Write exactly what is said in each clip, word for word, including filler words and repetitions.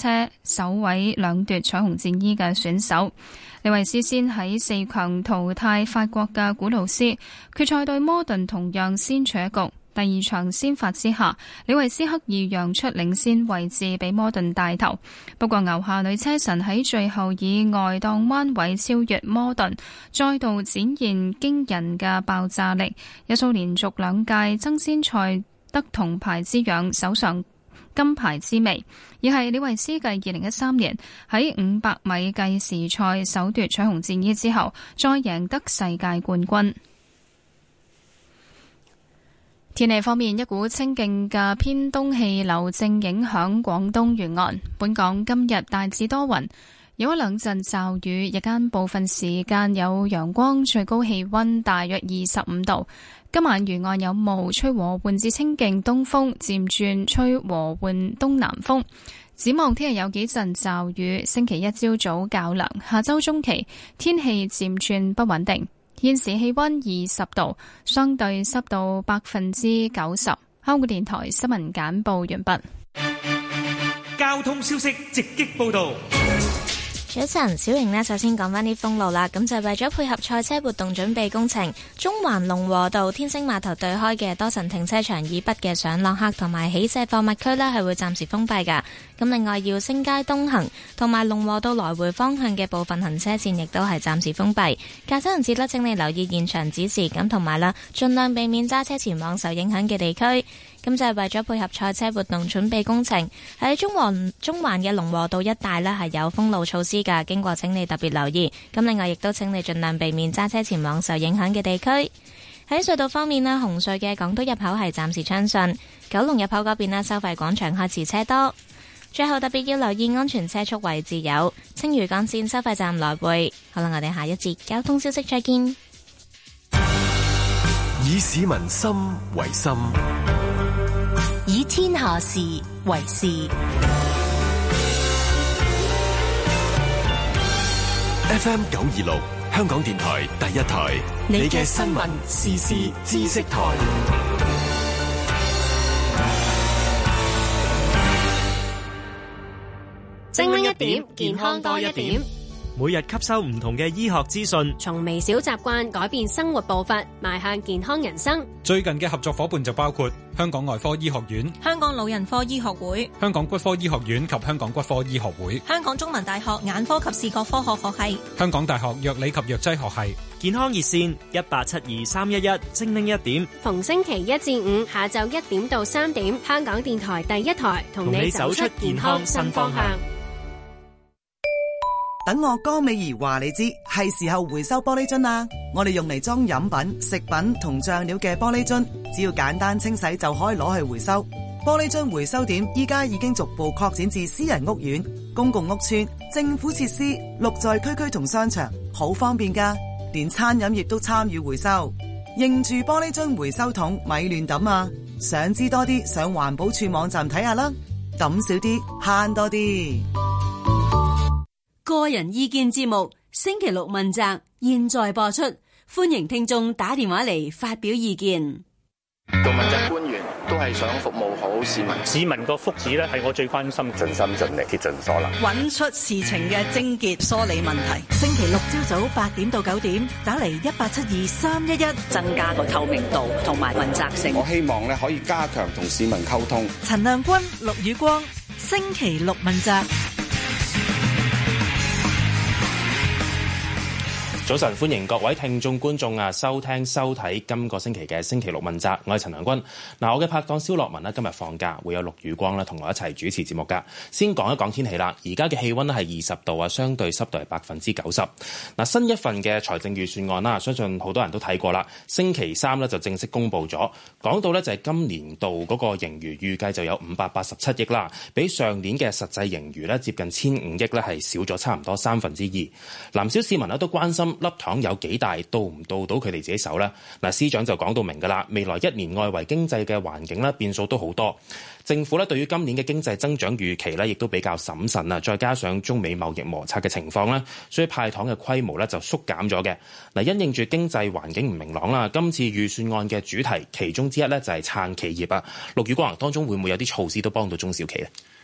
車首位兩奪彩虹戰衣嘅選手。李維斯先喺四強淘汰法國嘅古魯斯，決賽對摩頓同樣先取一局。第二場先發之下，李維斯刻意讓出領先位置俾摩頓帶頭，不過牛下女車神喺最後以外檔彎位超越摩頓，再度展現驚人嘅爆炸力，有數連續兩屆爭先賽得銅牌之樣，手上金牌之味，而係李維斯繼二零一三年喺五百米計時賽首奪彩虹戰衣之後，再贏得世界冠軍。天氣方面，一股清勁嘅偏東氣流正影響廣東沿岸。本港今日大致多雲，有一兩陣驟雨，日間部分時間有陽光，最高氣溫大約二十五度。今晚沿岸有霧，吹和緩至清勁東風，漸轉吹和緩東南風。展望聽日有幾陣驟雨，星期一朝早較涼，下周中期天氣漸轉不穩定。現時氣溫二十度，相對濕度百分之九十。香港電台新聞簡報完畢。 交通消息直擊報道。 早晨，小瑩呢，首先講返啲封路啦。咁就為咗配合賽車活動準備工程，中環龍和道天星碼頭對開嘅多層停車場以北嘅上落客同埋起卸貨物區呢，係會暫時封閉噶。咁另外，耀星街東行同埋龍和道來回方向嘅部分行車線亦都係暫時封閉。駕駛人士呢，請你留意現場指示，咁同埋啦，盡量避免揸車前往受影響嘅地區。咁就係為咗配合賽車活動準備工程，喺中環中環嘅龍和道一帶呢，係有封路措施㗎，經過請你特別留意。咁另外亦都請你盡量避免揸車前往受影響嘅地區。喺隧道方面呢，紅隧嘅港島入口係暫時暢順，九龍入口嗰邊呢，收費廣場開始車多。最後特別要留意安全車速位置有青嶼幹線收費站來回。好啦，我哋下一節交通消息再見。 以市民心為心， 以天下事為事。 F M 九二六，香港電台第一台，你嘅新聞時事知識台。 精靈一點，健康多一點。 每日吸收唔同嘅醫學資訊， 從微小習慣改變生活步伐，邁向健康人生。 最近嘅合作夥伴就包括香港外科醫學院、 香港老人科醫學會、 香港骨科醫學院及香港骨科醫學會、 香港中文大學眼科及視覺科學學系、 香港大學藥理及藥劑學系。 健康熱線一八七二三一一，精靈一點。 逢星期一至五下晝一點到三點，香港電台第一台同你走出健康新方向。 等我江美儀話你知，係時候回收玻璃樽啦。我哋用嚟裝飲品、食品同醬料嘅玻璃樽，只要簡單清洗就可以攞去回收。玻璃樽回收點依家已經逐步擴展至私人屋苑、公共屋邨、政府設施、綠在區區同商場，好方便㗎。連餐飲業都參與回收。認住玻璃樽回收桶，咪亂抌啊！想知多啲，上環保署網站睇下啦。抌少啲，慳多啲。 個人意見節目星期六問責，現在播出，歡迎聽眾打電話嚟發表意見。 做問責官員都係想服務好市民， 市民個福祉咧係我最關心， 盡心盡力竭盡所能， 揾出事情嘅症結，梳理問題。星期六朝早八點到九點，打嚟一八七二三一一， 增加個透明度同埋問責性。 我希望咧可以加強同市民溝通。 陳亮君、陸宇光，星期六問責。 早晨，歡迎各位聽眾觀眾啊，收聽收睇今個星期嘅星期六問責。我係陳良君。嗱，我嘅拍檔蕭樂文呢，今日放假，會有陸宇光咧同我一齊主持節目噶。先講一講天氣啦。而家嘅氣溫咧係二十度啊，相對濕度係百分之九十。嗱，新一份嘅財政預算案啦，相信好多人都睇過啦。星期三咧就正式公布咗，講到咧就係今年度嗰個盈餘預計就有五百八十七億啦，比上年嘅實際盈餘咧接近千五億咧係少咗差唔多三分之二。唔少市民咧都關心粒糖有幾大，到唔到到佢哋自己手呢？嗱，司長就講到明㗎啦，未來一年外圍經濟嘅環境咧變數都好多，政府咧對於今年嘅經濟增長預期咧亦都比較審慎啊，再加上中美貿易摩擦嘅情況咧，所以派糖嘅規模咧就縮減咗嘅。嗱，因應住經濟環境唔明朗啦，今次預算案嘅主題其中之一咧就係撐企業啊。陸宇光，當中會唔會有啲措施都幫到中小企咧？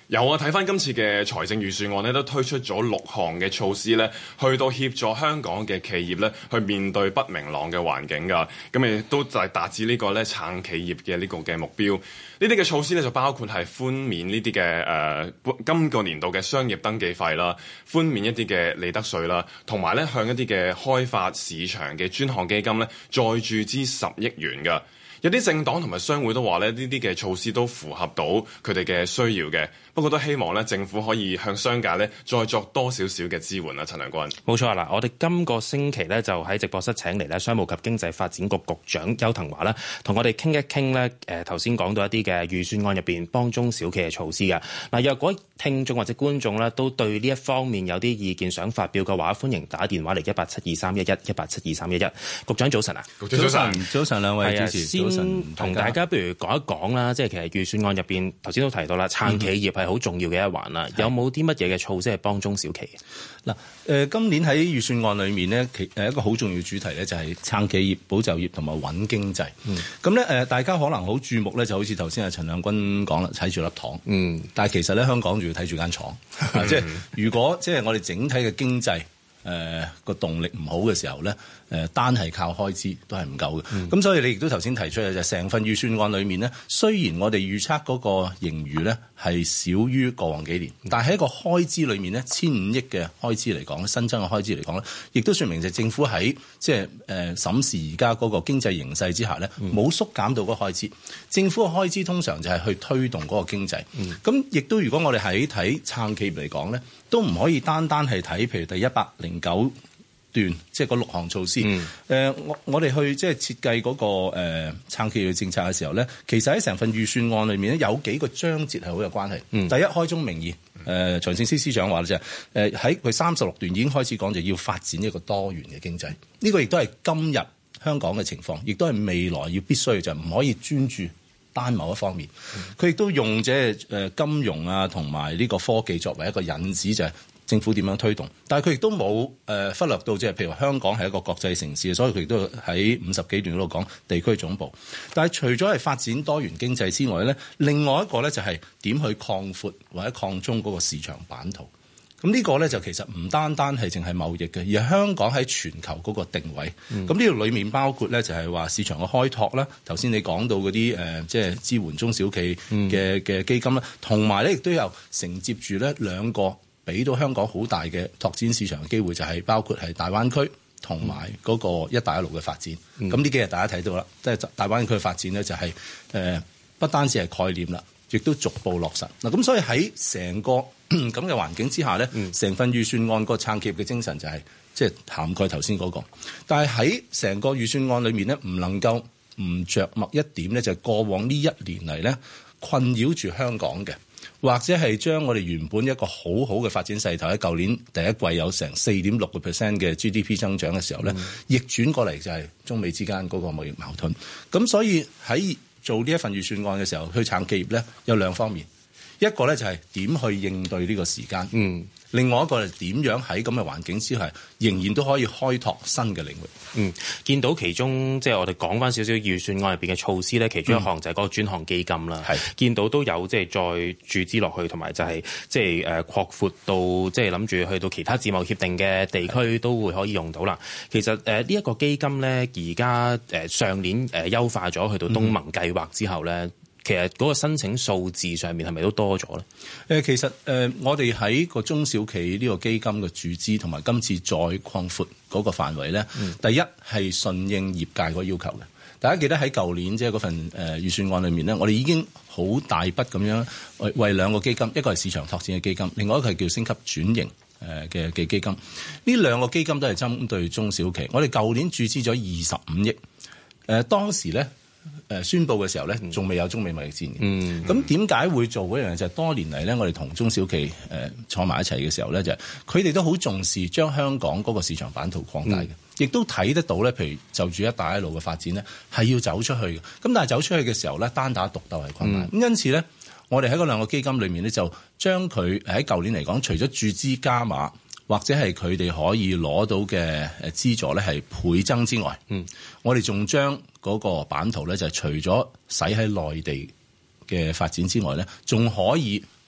有啊，睇翻今次嘅財政預算案咧，都推出咗六項嘅措施咧，去到協助香港嘅企業咧，去面對不明朗嘅環境㗎。咁亦都就係達至呢個咧撐企業嘅呢個嘅目標。呢啲嘅措施咧就包括係寬免呢啲嘅誒今個年度嘅商業登記費啦，寬免一啲嘅利得稅啦，同埋咧向一啲嘅開發市場嘅專項基金咧再注資十億元㗎。有啲政黨同埋商會都話咧，呢啲嘅措施都符合到佢哋嘅需要嘅，不過都希望咧政府可以向商界咧再作多少少嘅支援啦。陳良君， 冇錯啦，我哋今個星期咧就喺直播室請嚟咧商務及經濟發展局局長邱騰華啦，同我哋傾一傾咧誒頭先講到一啲嘅預算案入邊幫中小企嘅措施嘅。嗱，若果聽眾或者觀眾咧都對呢一方面有啲意見想發表嘅話，歡迎打電話嚟一八七二三一一一八七二三一一。局長早晨啊， 局長早晨，早晨兩位主持。 先同大家不如講一講啦，即係其實預算案入邊頭先都提到啦，撐企業係好重要嘅一環啦。嗯、有冇啲乜嘢嘅措施係幫中小企？ 嗱，誒今年喺預算案裏面呢，其誒一個好重要主題咧就係撐企業、保就業同埋穩經濟。咁咧誒，大家可能好注目咧，就好似頭先阿陳亮君講啦，睇住粒糖。嗯，但係其實咧香港仲要睇住間廠。即係如果即係我哋整體嘅經濟誒個動力唔好嘅時候咧。誒單係靠開支都係唔夠嘅，咁、嗯、所以你亦都頭先提出嘅就係成份預算案裏面呢，雖然我哋預測嗰個盈餘呢係少於過往幾年，但係喺一個開支裏面呢，千五億嘅開支嚟講，新增嘅開支嚟講呢，亦都說明就政府喺即係誒審視而家嗰個經濟形勢之下呢，冇縮減到嗰個開支。政府嘅開支通常就係去推動嗰個經濟，咁亦都如果我哋喺睇撐企業嚟講呢，都唔可以單單係睇譬如第一百零九段即係嗰六項措施，誒、嗯、我我哋去即係設計嗰個誒撐企業嘅政策嘅時候咧，其實喺成份預算案裏面咧有幾個章節係好有關係。嗯、第一，開宗明義，誒財政司司長話咧就係誒喺佢三十六段已經開始講就要發展一個多元嘅經濟，呢、這個亦都係今日香港嘅情況，亦都係未來要必須嘅，就唔可以專注單某一方面。佢亦、嗯、都用即係誒金融啊同埋呢個科技作為一個引子，就係、是。政府點樣推動？但係佢亦都冇誒忽略到，即係譬如話香港係一個國際城市，所以佢亦都喺五十幾段嗰度講地區總部。但係除咗係發展多元經濟之外咧，另外一個咧就係點去擴闊或者擴充嗰個市場版圖。咁呢個咧就其實唔單單係淨係貿易嘅，而係香港喺全球嗰個定位。咁呢度裏面包括咧就係話市場嘅開拓啦。頭先你講到嗰啲誒即係支援中小企嘅嘅基金啦，同埋咧亦都有承接住咧兩個。俾到香港好大嘅拓展市場嘅機會，就係包括係大灣區同埋嗰個一帶一路嘅發展。咁呢、嗯、幾日大家睇到啦，即係大灣區嘅發展咧、就是，就係誒不單止係概念啦，亦都逐步落實嗱。咁所以喺成個咁嘅環境之下咧，成、嗯、份預算案個撐企業嘅精神就係即係涵蓋頭先嗰個。但係喺成個預算案裏面咧，唔能夠唔着墨一點咧，就係過往呢一年嚟咧困擾住香港嘅。或者係將我哋原本一個好好嘅發展勢頭喺舊年第一季有成四點六個 percent 嘅 G D P 增長嘅時候咧，嗯、逆轉過嚟就係中美之間嗰個貿易矛盾。咁所以喺做呢一份預算案嘅時候，去撐企業咧有兩方面，一個咧就係點去應對呢個時間，嗯，另外一個係點樣喺咁嘅環境之下，仍然都可以開拓新嘅領域。 嗯，見到其中即係我哋講翻少少預算案入邊嘅措施咧，其中一項就係嗰個專項基金啦。係、嗯、見到都有即係再注資落去，同埋就係即係誒擴闊到即係諗住去到其他自貿協定嘅地區都會可以用到啦。其實誒呢一個基金咧，而家誒上年誒優化咗去到東盟計劃之後咧。嗯其實嗰個申請數字上面係咪都多咗咧？誒，其實誒，我哋喺個中小企呢個基金嘅注資同埋今次再擴闊嗰個範圍咧，嗯、第一係順應業界個要求嘅。大家記得喺舊年即係嗰份誒預算案裏面咧，我哋已經好大筆咁樣為為兩個基金，一個係市場拓展嘅基金，另外一個係叫升級轉型誒嘅嘅基金。呢兩個基金都係針對中小企。我哋舊年注資咗二十五億，誒當時咧。誒宣佈嘅時候咧，仲未有中美貿易戰嘅。咁點解會做嗰樣嘢？就係、是、多年嚟咧，我哋同中小企誒坐埋一齊嘅時候咧，就係佢哋都好重視將香港嗰個市場版圖擴大嘅，亦、嗯、都睇得到咧。譬如就住一帶一路嘅發展咧，係要走出去嘅。咁但係走出去嘅時候咧，單打獨鬥係困難。咁、嗯、因此咧，我哋喺嗰兩個基金裏面咧，就將佢喺舊年嚟講，除咗注資加碼，或者係佢哋可以攞到嘅誒資助咧係倍增之外，嗯，我哋仲將嗰個版圖咧就係除咗使喺內地嘅發展之外咧，仲可以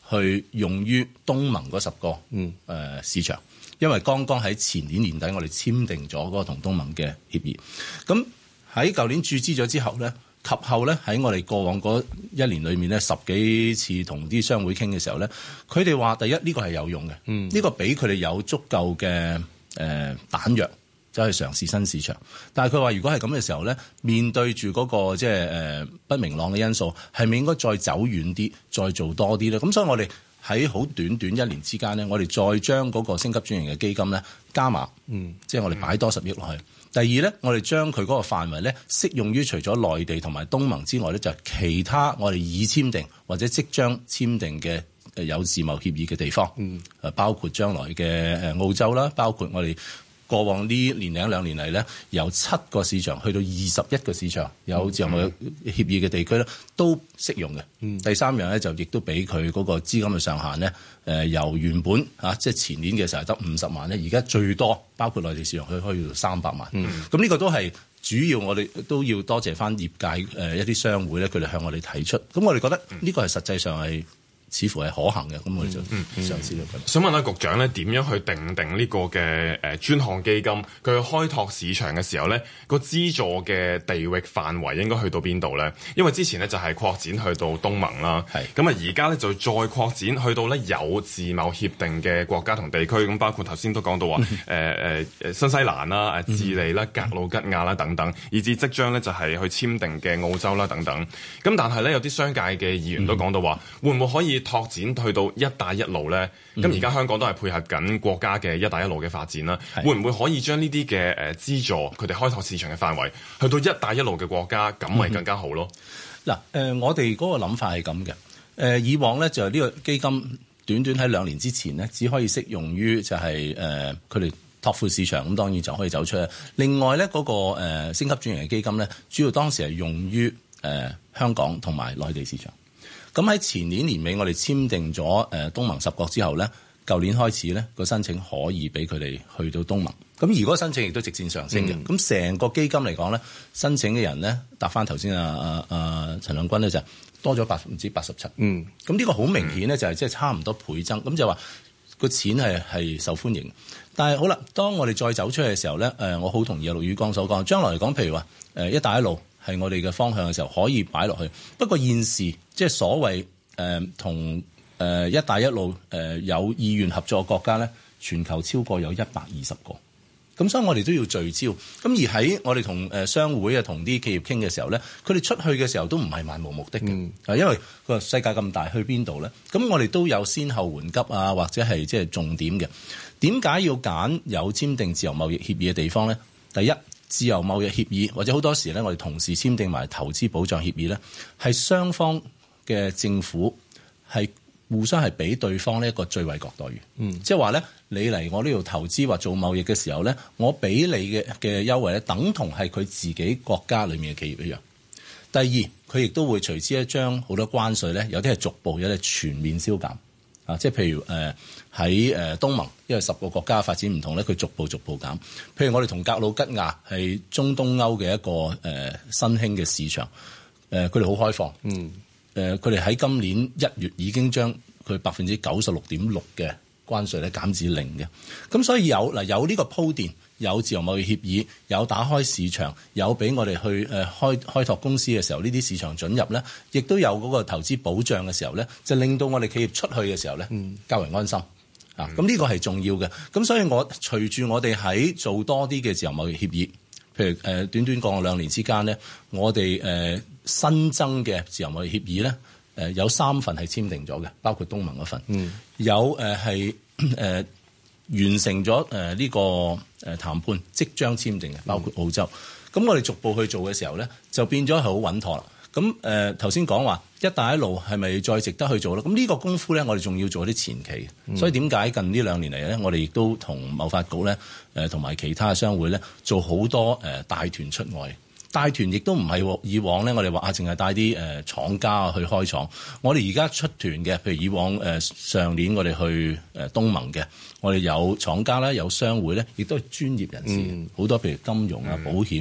去用於東盟嗰十個、嗯呃、市場，因為剛剛喺前年年底我哋簽訂咗嗰個同東盟嘅協議。咁喺舊年注資咗之後咧，及後咧喺我哋過往嗰一年裏面咧，十幾次同啲商會傾嘅時候咧，佢哋話第一呢、呢個係有用嘅，呢、嗯呢個俾佢哋有足夠嘅誒彈藥走去嘗試新市場。但係佢話如果係咁嘅時候咧，面對住嗰、嗰個即係誒不明朗嘅因素，係咪應該再走遠啲，再做多啲咧？咁所以我哋喺好短短一年之間咧，我哋再將嗰個升級轉型嘅基金咧加碼，嗯，即係我哋擺多十億落去。第二咧，我哋將佢嗰個範圍咧適用於除咗內地同埋東盟之外咧，就係、是、其他我哋已簽訂或者即將簽訂嘅誒有自貿協議嘅地方，嗯，誒包括將來嘅誒澳洲啦，包括我哋過往呢年零兩年嚟咧，由七個市場去到二十一個市場有自由貿易協議嘅地區咧，都適用嘅。嗯，第三樣咧就亦都俾佢嗰個資金嘅上限咧。誒、呃、由原本啊，即係前年嘅時候得五十萬咧，而家最多包括內地市場佢可以到三百萬。咁呢、嗯、個都係主要，我哋都要多謝翻業界誒、呃、一啲商會咧，佢哋向我哋提出。咁我哋覺得呢個係實際上係似乎係可行嘅。咁我哋就嘗試咗佢。 想問下局長咧，點樣去定定呢個嘅誒專項基金？佢去開拓市場嘅時候咧，個資助嘅地域範圍應該去到邊度咧？因為之前咧就係擴展去到東盟啦，咁啊而家咧就再擴展去到咧有自貿協定嘅國家同地區，咁包括頭先都講到話誒誒新西蘭啦、誒智利啦、格魯吉亞啦等等，以至即將咧就係去簽訂嘅澳洲啦等等。咁但係咧有啲商界嘅議員都講到話，會唔會可以拓展去到一帶一路咧？咁而家香港都係配合緊國家嘅一帶一路嘅發展啦，會唔會可以將呢啲嘅誒資助佢哋開拓市場嘅範圍去到一帶一路嘅國家，咁咪更加好咯？ 嗱、嗯，誒、呃、我哋嗰個諗法係咁嘅。誒、呃、以往咧就係呢個基金短短喺兩年之前咧，只可以適用於就係誒佢哋拓闊市場，咁當然就可以走出去。另外咧嗰、那個誒、呃、升級轉型嘅基金咧，主要當時係用於誒、呃、香港同埋內地市場。咁喺前年年尾，我哋簽訂咗誒東盟十國之後咧，舊年開始咧個申請可以俾佢哋去到東盟。咁而嗰個申請亦都直線上升嘅。咁成、嗯、個基金嚟講咧，申請嘅人咧，答翻頭先啊啊啊陳亮君咧就多咗百分之八十七。嗯，咁呢個好明顯咧，就係即係差唔多倍增。咁就話個錢係係受歡迎。但係好啦，當我哋再走出去嘅時候咧，誒我好同意阿陸宇光所講，將來嚟講，譬如話誒一帶一路係我哋嘅方向嘅時候，可以擺落去。不過現時即係所謂誒同誒一帶一路誒、呃、有意願合作嘅國家咧，全球超過有一百二十個。咁所以我哋都要聚焦。咁而喺我哋同誒商會啊、同啲企業傾嘅時候咧，佢哋出去嘅時候都唔係漫無目的嘅。啊、嗯，因為個世界咁大，去邊度咧？咁我哋都有先後緩急啊，或者係即係重點嘅。點解要揀有簽訂自由貿易協議嘅地方咧？第一，自由貿易協議或者好多時咧，我哋同時簽訂埋投資保障協議咧，係雙方嘅政府係互相係俾對方呢一個最惠國待遇。嗯，即係話咧，你嚟我呢度投資或做貿易嘅時候咧，我俾你嘅嘅優惠咧，等同係佢自己國家裏面嘅企業一樣。第二，佢亦都會隨之一將好多關稅咧，有啲係逐步，有啲係全面消減。啊，即係譬如誒喺誒東盟，因為十個國家發展唔同咧，佢逐步逐步減。譬如我哋同格魯吉亞係中東歐嘅一個誒、呃、新興嘅市場，誒佢哋好開放。嗯。誒佢哋喺今年一月已經將佢百分之九十六點六嘅關稅咧減至零嘅。咁所以有嗱有呢個鋪墊，有自由貿易協議，有打開市場，有俾我哋去誒開開拓公司嘅時候，呢啲市場准入咧，亦都有嗰個投資保障嘅時候咧，就令到我哋企業出去嘅時候咧，較為安心。啊，咁呢個係重要嘅。咁所以我隨住我哋喺做多啲嘅自由貿易協議，譬如誒短短過兩年之間咧，我哋誒新增嘅自由貿易協議咧，誒有三份係簽訂咗嘅，包括東盟嗰份，嗯、有誒係誒完成咗誒呢個誒談判，即將簽訂嘅，包括澳洲。咁、嗯、我哋逐步去做嘅時候咧，就變咗係好穩妥啦。咁誒頭先講話一帶一路係咪再值得去做咧？咁呢個功夫咧，我哋仲要做啲前期。嗯、所以點解近呢兩年嚟咧，我哋亦都同貿發局咧誒同埋其他商會咧做好多誒帶團出外。帶團亦都唔係以往咧，我哋話啊，淨係帶啲誒廠家去開廠。我哋而家出團嘅，譬如以往誒上年我哋去誒東盟嘅，我哋有廠家啦，有商會咧，亦都係專業人士，好、嗯、多譬如金融啊、保險啊、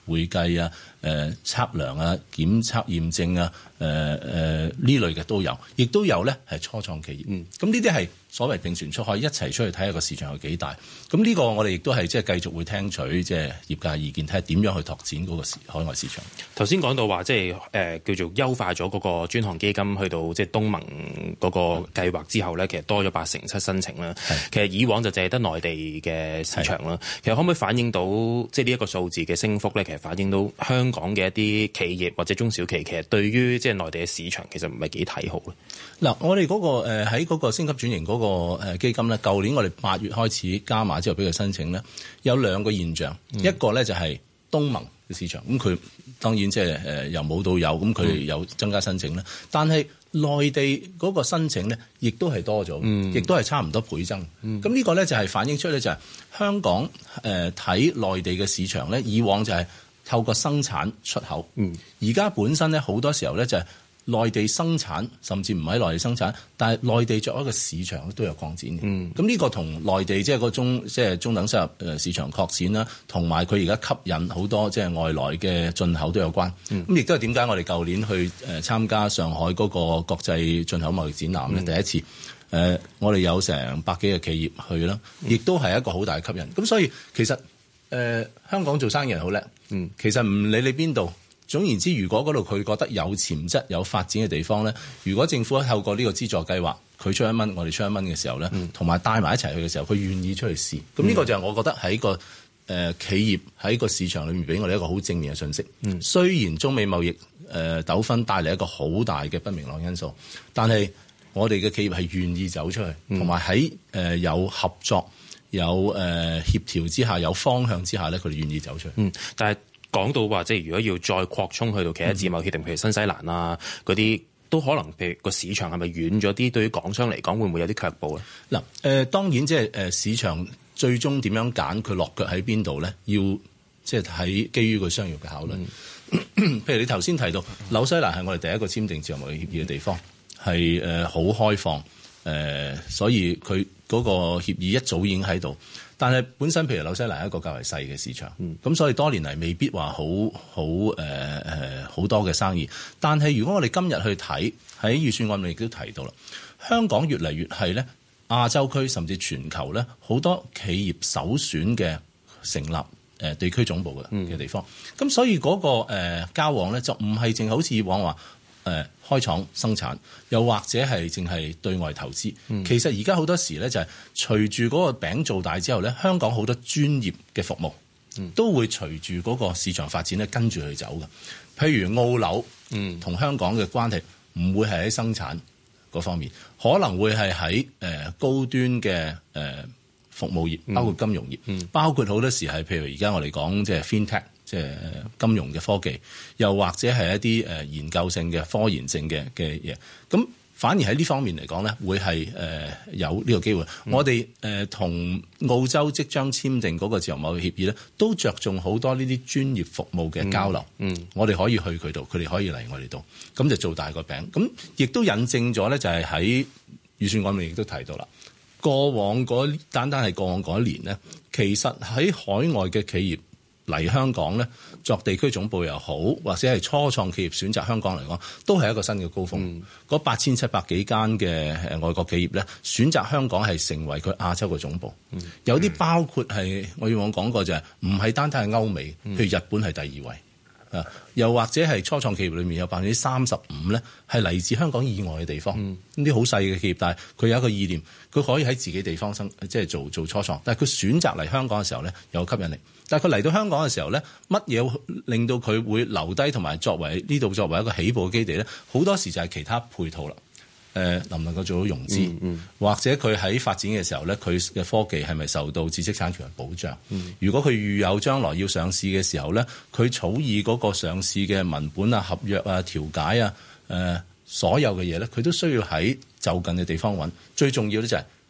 會計啊、誒、呃、測量啊、檢測驗證啊、誒誒呢類嘅都有，亦都有咧係初創企業。嗯，咁呢啲係所謂並船出海，一齊出去睇下個市場有幾大。咁呢個我哋亦都係即係繼續會聽取即係業界意見，睇下點樣去拓展嗰個海外市場。 頭先講到話即係誒叫做優化咗嗰個專項基金，去到即係東盟嗰個計劃之後咧，其實多咗八成七申請啦。其實以往就淨係得內地嘅市場啦。其實可唔可以反映到即係呢一個數字嘅升幅咧？其實反映到香港嘅一啲企業或者中小企，其實對於即係內地嘅市場其實唔係幾睇好咧。 嗱，我哋嗰個誒喺嗰個升級轉型嗰個誒基金咧，舊年我哋八月開始加碼之後俾佢申請咧，有兩個現象，嗯、一個咧就係東盟嘅市場，咁佢當然即係誒由冇到有，咁佢有增加申請咧，嗯、但係內地嗰個申請咧，亦都係多咗，亦、嗯、都係差唔多倍增。咁、嗯、呢個咧就係反映出咧就係香港誒睇內地嘅市場咧，以往就係透過生產出口，而家、嗯、本身咧好多時候咧就係內地生產，甚至唔喺內地生產，但係內地作為一個市場都有擴展嘅。咁呢、嗯、個同內地即係個中即係、就是、中等收入誒市場擴展啦，同埋佢而家吸引好多即係外來嘅進口都有關。咁亦都係點解我哋舊年去誒參加上海嗰個國際進口貿易展覽咧，嗯、第一次誒我哋有成百幾個企業去啦，亦都係一個好大嘅吸引。咁所以其實誒、呃、香港做生意人好叻，嗯，其實唔理你邊度。總言之，如果嗰度佢覺得有潛質、有發展嘅地方咧，如果政府透過呢個資助計劃，佢出一蚊，我哋出一蚊嘅時候咧，同埋帶埋一齊去嘅時候，佢願意出去試。咁呢、嗯、個就係我覺得喺個誒、呃、企業喺個市場裏面俾我哋一個好正面嘅信息。嗯、雖然中美貿易誒、呃、糾紛帶嚟一個好大嘅不明朗因素，但係我哋嘅企業係願意走出去，同埋喺誒有合作、有誒、呃、協調之下、有方向之下咧，佢哋願意走出去。 嗯，但係。講到話，即係如果要再擴充去到其他自貿協定，譬如新西蘭啊嗰啲，都可能譬如個市場係咪遠咗啲？對於港商嚟講，會唔會有啲卻步咧？ 嗱，誒當然即係誒市場最終點樣揀佢落腳喺邊度咧？要即係喺基於個商業嘅考慮。嗯、譬如你頭先提到紐西蘭係我哋第一個簽訂自由貿易協議嘅地方，係誒好開放，誒、呃、所以佢嗰個協議一早已經喺度。但係本身譬如紐西蘭係一個較為細嘅市場，咁、嗯、所以多年嚟未必話好好誒誒好多嘅生意。但係如果我哋今日去睇喺預算案裏亦都提到啦，香港越嚟越係咧亞洲區甚至全球咧好多企業首選嘅成立誒地區總部嘅嘅地方。咁、嗯、所以嗰、那個誒、呃、交往咧就唔係淨好似以往話。誒、呃、開廠生產，又或者係淨係對外投資。嗯、其實而家好多時咧，就係隨住嗰個餅做大之後咧，香港好多專業嘅服務、嗯、都會隨住嗰個市場發展咧跟住去走嘅。譬如澳紐同香港嘅關係唔會係喺生產嗰方面，可能會係喺誒高端嘅誒、呃、服務業，包括金融業，嗯、包括好多時係譬如而家我哋講即係 FinTech。即係金融嘅科技，又或者係一啲誒研究性嘅科研性嘅嘅嘢，咁反而喺呢方面嚟講咧，會係誒有呢個機會。嗯、我哋誒同澳洲即將簽訂嗰個自由貿易協議咧，都着重好多呢啲專業服務嘅交流。嗯，嗯我哋可以去佢度，佢哋可以嚟我哋度，咁就做大個餅。咁亦都引證咗咧，就係喺預算案裏亦都提到啦。過往嗰單單係過往嗰一年咧，其實喺海外嘅企業嚟香港咧，作地區總部又好，或者係初創企業選擇香港嚟講，都係一個新嘅高峰。嗰八千七百幾間嘅誒外國企業咧，選擇香港係成為佢亞洲嘅總部。嗯、有啲包括係我以往講過就係唔係單單係歐美，譬如日本係第二位。啊，又或者係初創企業裏面有百分之三十五咧，係嚟自香港以外嘅地方。呢啲好細嘅企業，但係佢有一個意念，佢可以喺自己地方生，即係做做初創。但係佢選擇嚟香港嘅時候咧，有吸引力。但係佢嚟到香港嘅時候咧，乜嘢令到佢會留低同埋作為呢度作為一個起步嘅基地咧？好多時就係其他配套啦。誒、呃、能唔能夠做到融資，嗯嗯、或者佢喺發展嘅時候咧，佢嘅科技係咪受到知識產權嘅保障？嗯、如果佢預有將來要上市嘅時候咧，佢草擬嗰個上市嘅文本啊、合約啊、調解啊、誒、呃、所有嘅嘢咧，佢都需要喺就近嘅地方揾。最重要咧就係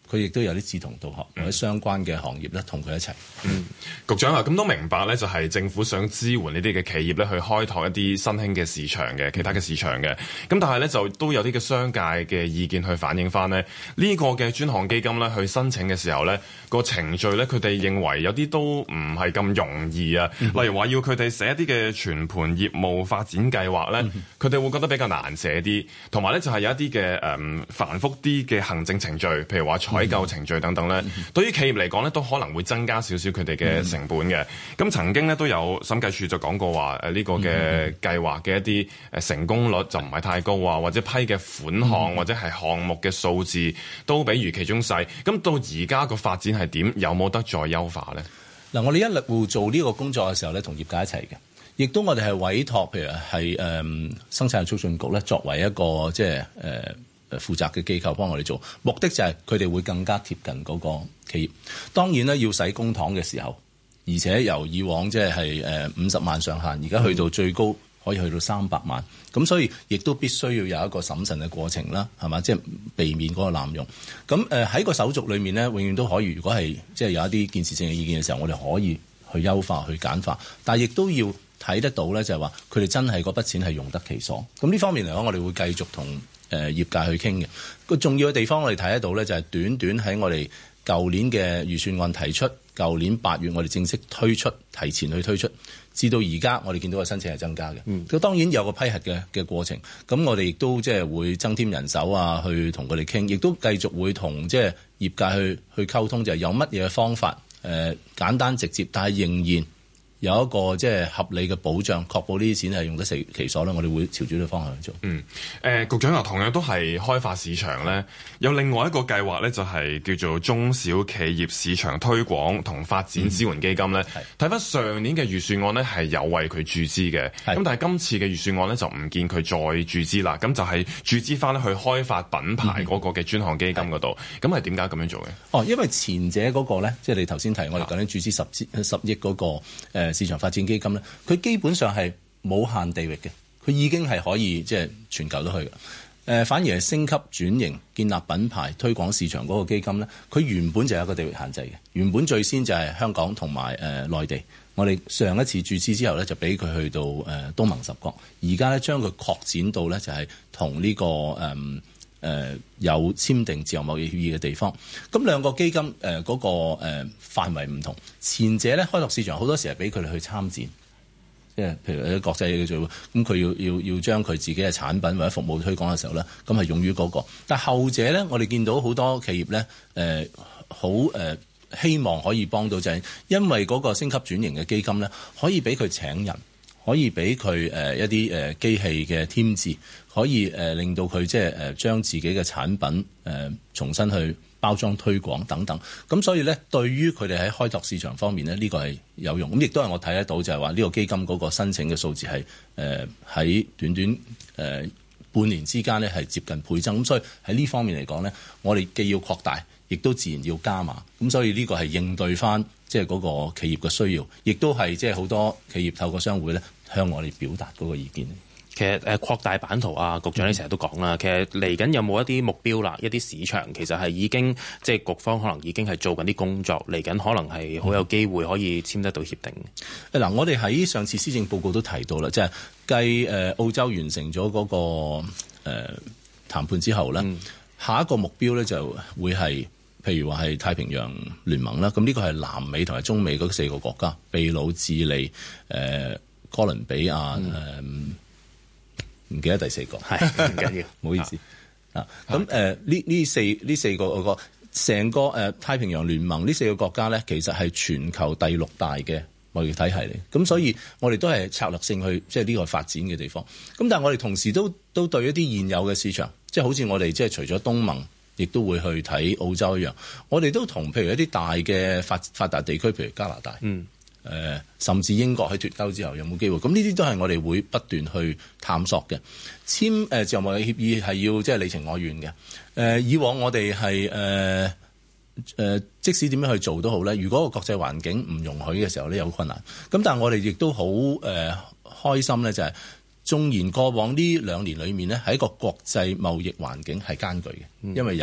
佢亦都有啲志同道合或者相關嘅行業咧，同佢一齊。 嗯，局長啊，咁都明白咧，就係政府想支援呢啲嘅企業咧，去開拓一啲新興嘅市場嘅其他嘅市場嘅。咁但係咧，就都有啲嘅商界嘅意見去反映翻呢，呢個嘅專項基金咧去申請嘅時候咧，個程序咧，佢哋認為有啲都唔係咁容易啊。嗯、例如話要佢哋寫一啲嘅全盤業務發展計劃咧，佢哋、嗯、會覺得比較難寫啲，同埋咧就係有一啲嘅誒繁複啲嘅行政程序，譬如話採購程序等等咧，嗯、對於企業嚟講咧，都可能會增加少少佢哋嘅成本嘅。咁、嗯、曾經咧都有審計署就講過話，誒呢個嘅計劃嘅一啲誒成功率就唔係太高啊，或者批嘅款項、嗯、或者係項目嘅數字都比預期中細。咁到而家個發展係點？有冇得再優化咧？ 嗱，我哋一路做呢個工作嘅時候咧，同業界一齊嘅，亦都我哋係委託，譬如係誒、嗯、生產促進局咧，作為一個即係誒。呃誒負責嘅機構幫我哋做，目的就係佢哋會更加貼近嗰個企業。當然咧，要使公帑嘅時候，而且由以往即係誒五十萬上限，而家去到最高可以去到三百萬。咁所以亦都必須要有一個審慎嘅過程啦，係嘛？即係避免嗰個濫用。咁誒喺個手續裏面咧，永遠都可以。如果係即係有一啲建設性嘅意見嘅時候，我哋可以去優化、去簡化，但係亦都要睇得到咧，就係話佢哋真係嗰筆錢係用得其所。咁呢方面嚟講，我哋會繼續同誒業界去傾嘅。個重要嘅地方我哋睇得到咧，就係短短喺我哋舊年嘅預算案提出，舊年八月我哋正式推出，提前去推出，至到而家我哋見到個申請係增加嘅。嗯，咁當然有個批核嘅嘅過程，咁我哋亦都即係會增添人手啊，去同佢哋傾，亦都繼續會同即係業界去去溝通，就係有乜嘢方法誒、呃、簡單直接，但係仍然有一個即係合理嘅保障，確保呢啲錢係用得其所咧。我哋會朝住呢個方向去做。嗯，誒、 呃，局長啊，同樣都係開發市場咧，有另外一個計劃咧，就係叫做中小企業市場推廣同發展支援基金咧。睇翻、嗯、上年嘅預算案咧，係有為佢注資嘅。咁是但係今次嘅預算案咧，就唔見佢再注資啦。咁就係注資翻咧去開發品牌嗰個嘅專項基金嗰度。咁係點解咁樣做嘅？ 哦，因為前者嗰個咧，即係你頭先提我哋講緊注資十支十億嗰個誒。呃市場發展基金咧，佢基本上係冇限地域嘅，佢已經係可以即係全球都去嘅。誒、呃，反而係升級轉型、建立品牌、推廣市場嗰個基金咧，佢原本就有一個地域限制嘅。原本最先就係香港同埋誒內地。我哋上一次注資之後咧，就俾佢去到誒、呃、東盟十國。而家咧將佢擴展到咧就係同呢個誒。呃誒、呃、有簽訂自由貿易協議嘅地方，咁兩個基金誒嗰、呃那個誒、呃、範圍唔同。前者咧開拓市場好多時係俾佢哋去參展，即係譬如喺國際嘅做，咁佢要要要將佢自己嘅產品或者服務推廣嘅時候咧，咁係用於嗰、那個。但係後者咧，我哋見到好多企業咧誒好誒希望可以幫到，就係因為嗰個升級轉型嘅基金咧，可以俾佢請人。可以俾佢誒一啲誒機器嘅添置，可以誒令到佢即係誒將自己嘅產品誒重新去包裝推廣等等。咁所以咧，對於佢哋喺開拓市場方面咧，呢個係有用。咁亦都係我睇得到，就係話呢個基金嗰個申請嘅數字係誒喺短短誒半年之間咧係接近倍增。咁所以喺呢方面嚟講咧，我哋既要擴大，亦都自然要加碼。咁所以呢個係應對翻即係嗰個企業嘅需要，亦都係即係好多企業透過商會咧向我哋表達嗰個意見。 其實誒擴大版圖啊，局長你成日都講啦。嗯、其實嚟緊有冇一啲目標啦？一啲市場其實係已經即係局方可能已經係做緊啲工作，嚟緊可能係好有機會可以簽得到協定。 嗱、嗯，我哋喺上次施政報告都提到啦，即係繼誒澳洲完成咗嗰、那個誒、呃、談判之後咧，嗯、下一個目標咧就會係。譬如話係太平洋聯盟啦，咁呢個係南美同埋中美嗰四個國家，秘魯、智利、誒、呃、哥倫比亞，誒唔、嗯呃、記得第四個，係唔緊要，唔好意思啊。咁誒呢呢四呢四個個成個誒、呃、太平洋聯盟呢四個國家咧，其實係全球第六大嘅貿易體系嚟。咁所以我哋都係策略性去即係呢個發展嘅地方。咁但係我哋同時都都對一啲現有嘅市場，即係好似我哋即係除咗東盟。亦都會去睇澳洲一樣，我哋都同譬如一啲大嘅發發達地區，譬如加拿大，嗯，誒、呃，甚至英國喺脫歐之後有冇機會？咁呢啲都係我哋會不斷去探索嘅。簽誒、呃、自由貿易協議係要即係你情我願嘅。誒、呃，以往我哋係誒誒，即使點樣去做都好咧，如果個國際環境唔容許嘅時候咧，有困難。咁但係我哋亦都好誒、呃、開心咧，就係、是。縱然過往呢兩年裏面呢，喺一個國際貿易環境係艱巨嘅，因為由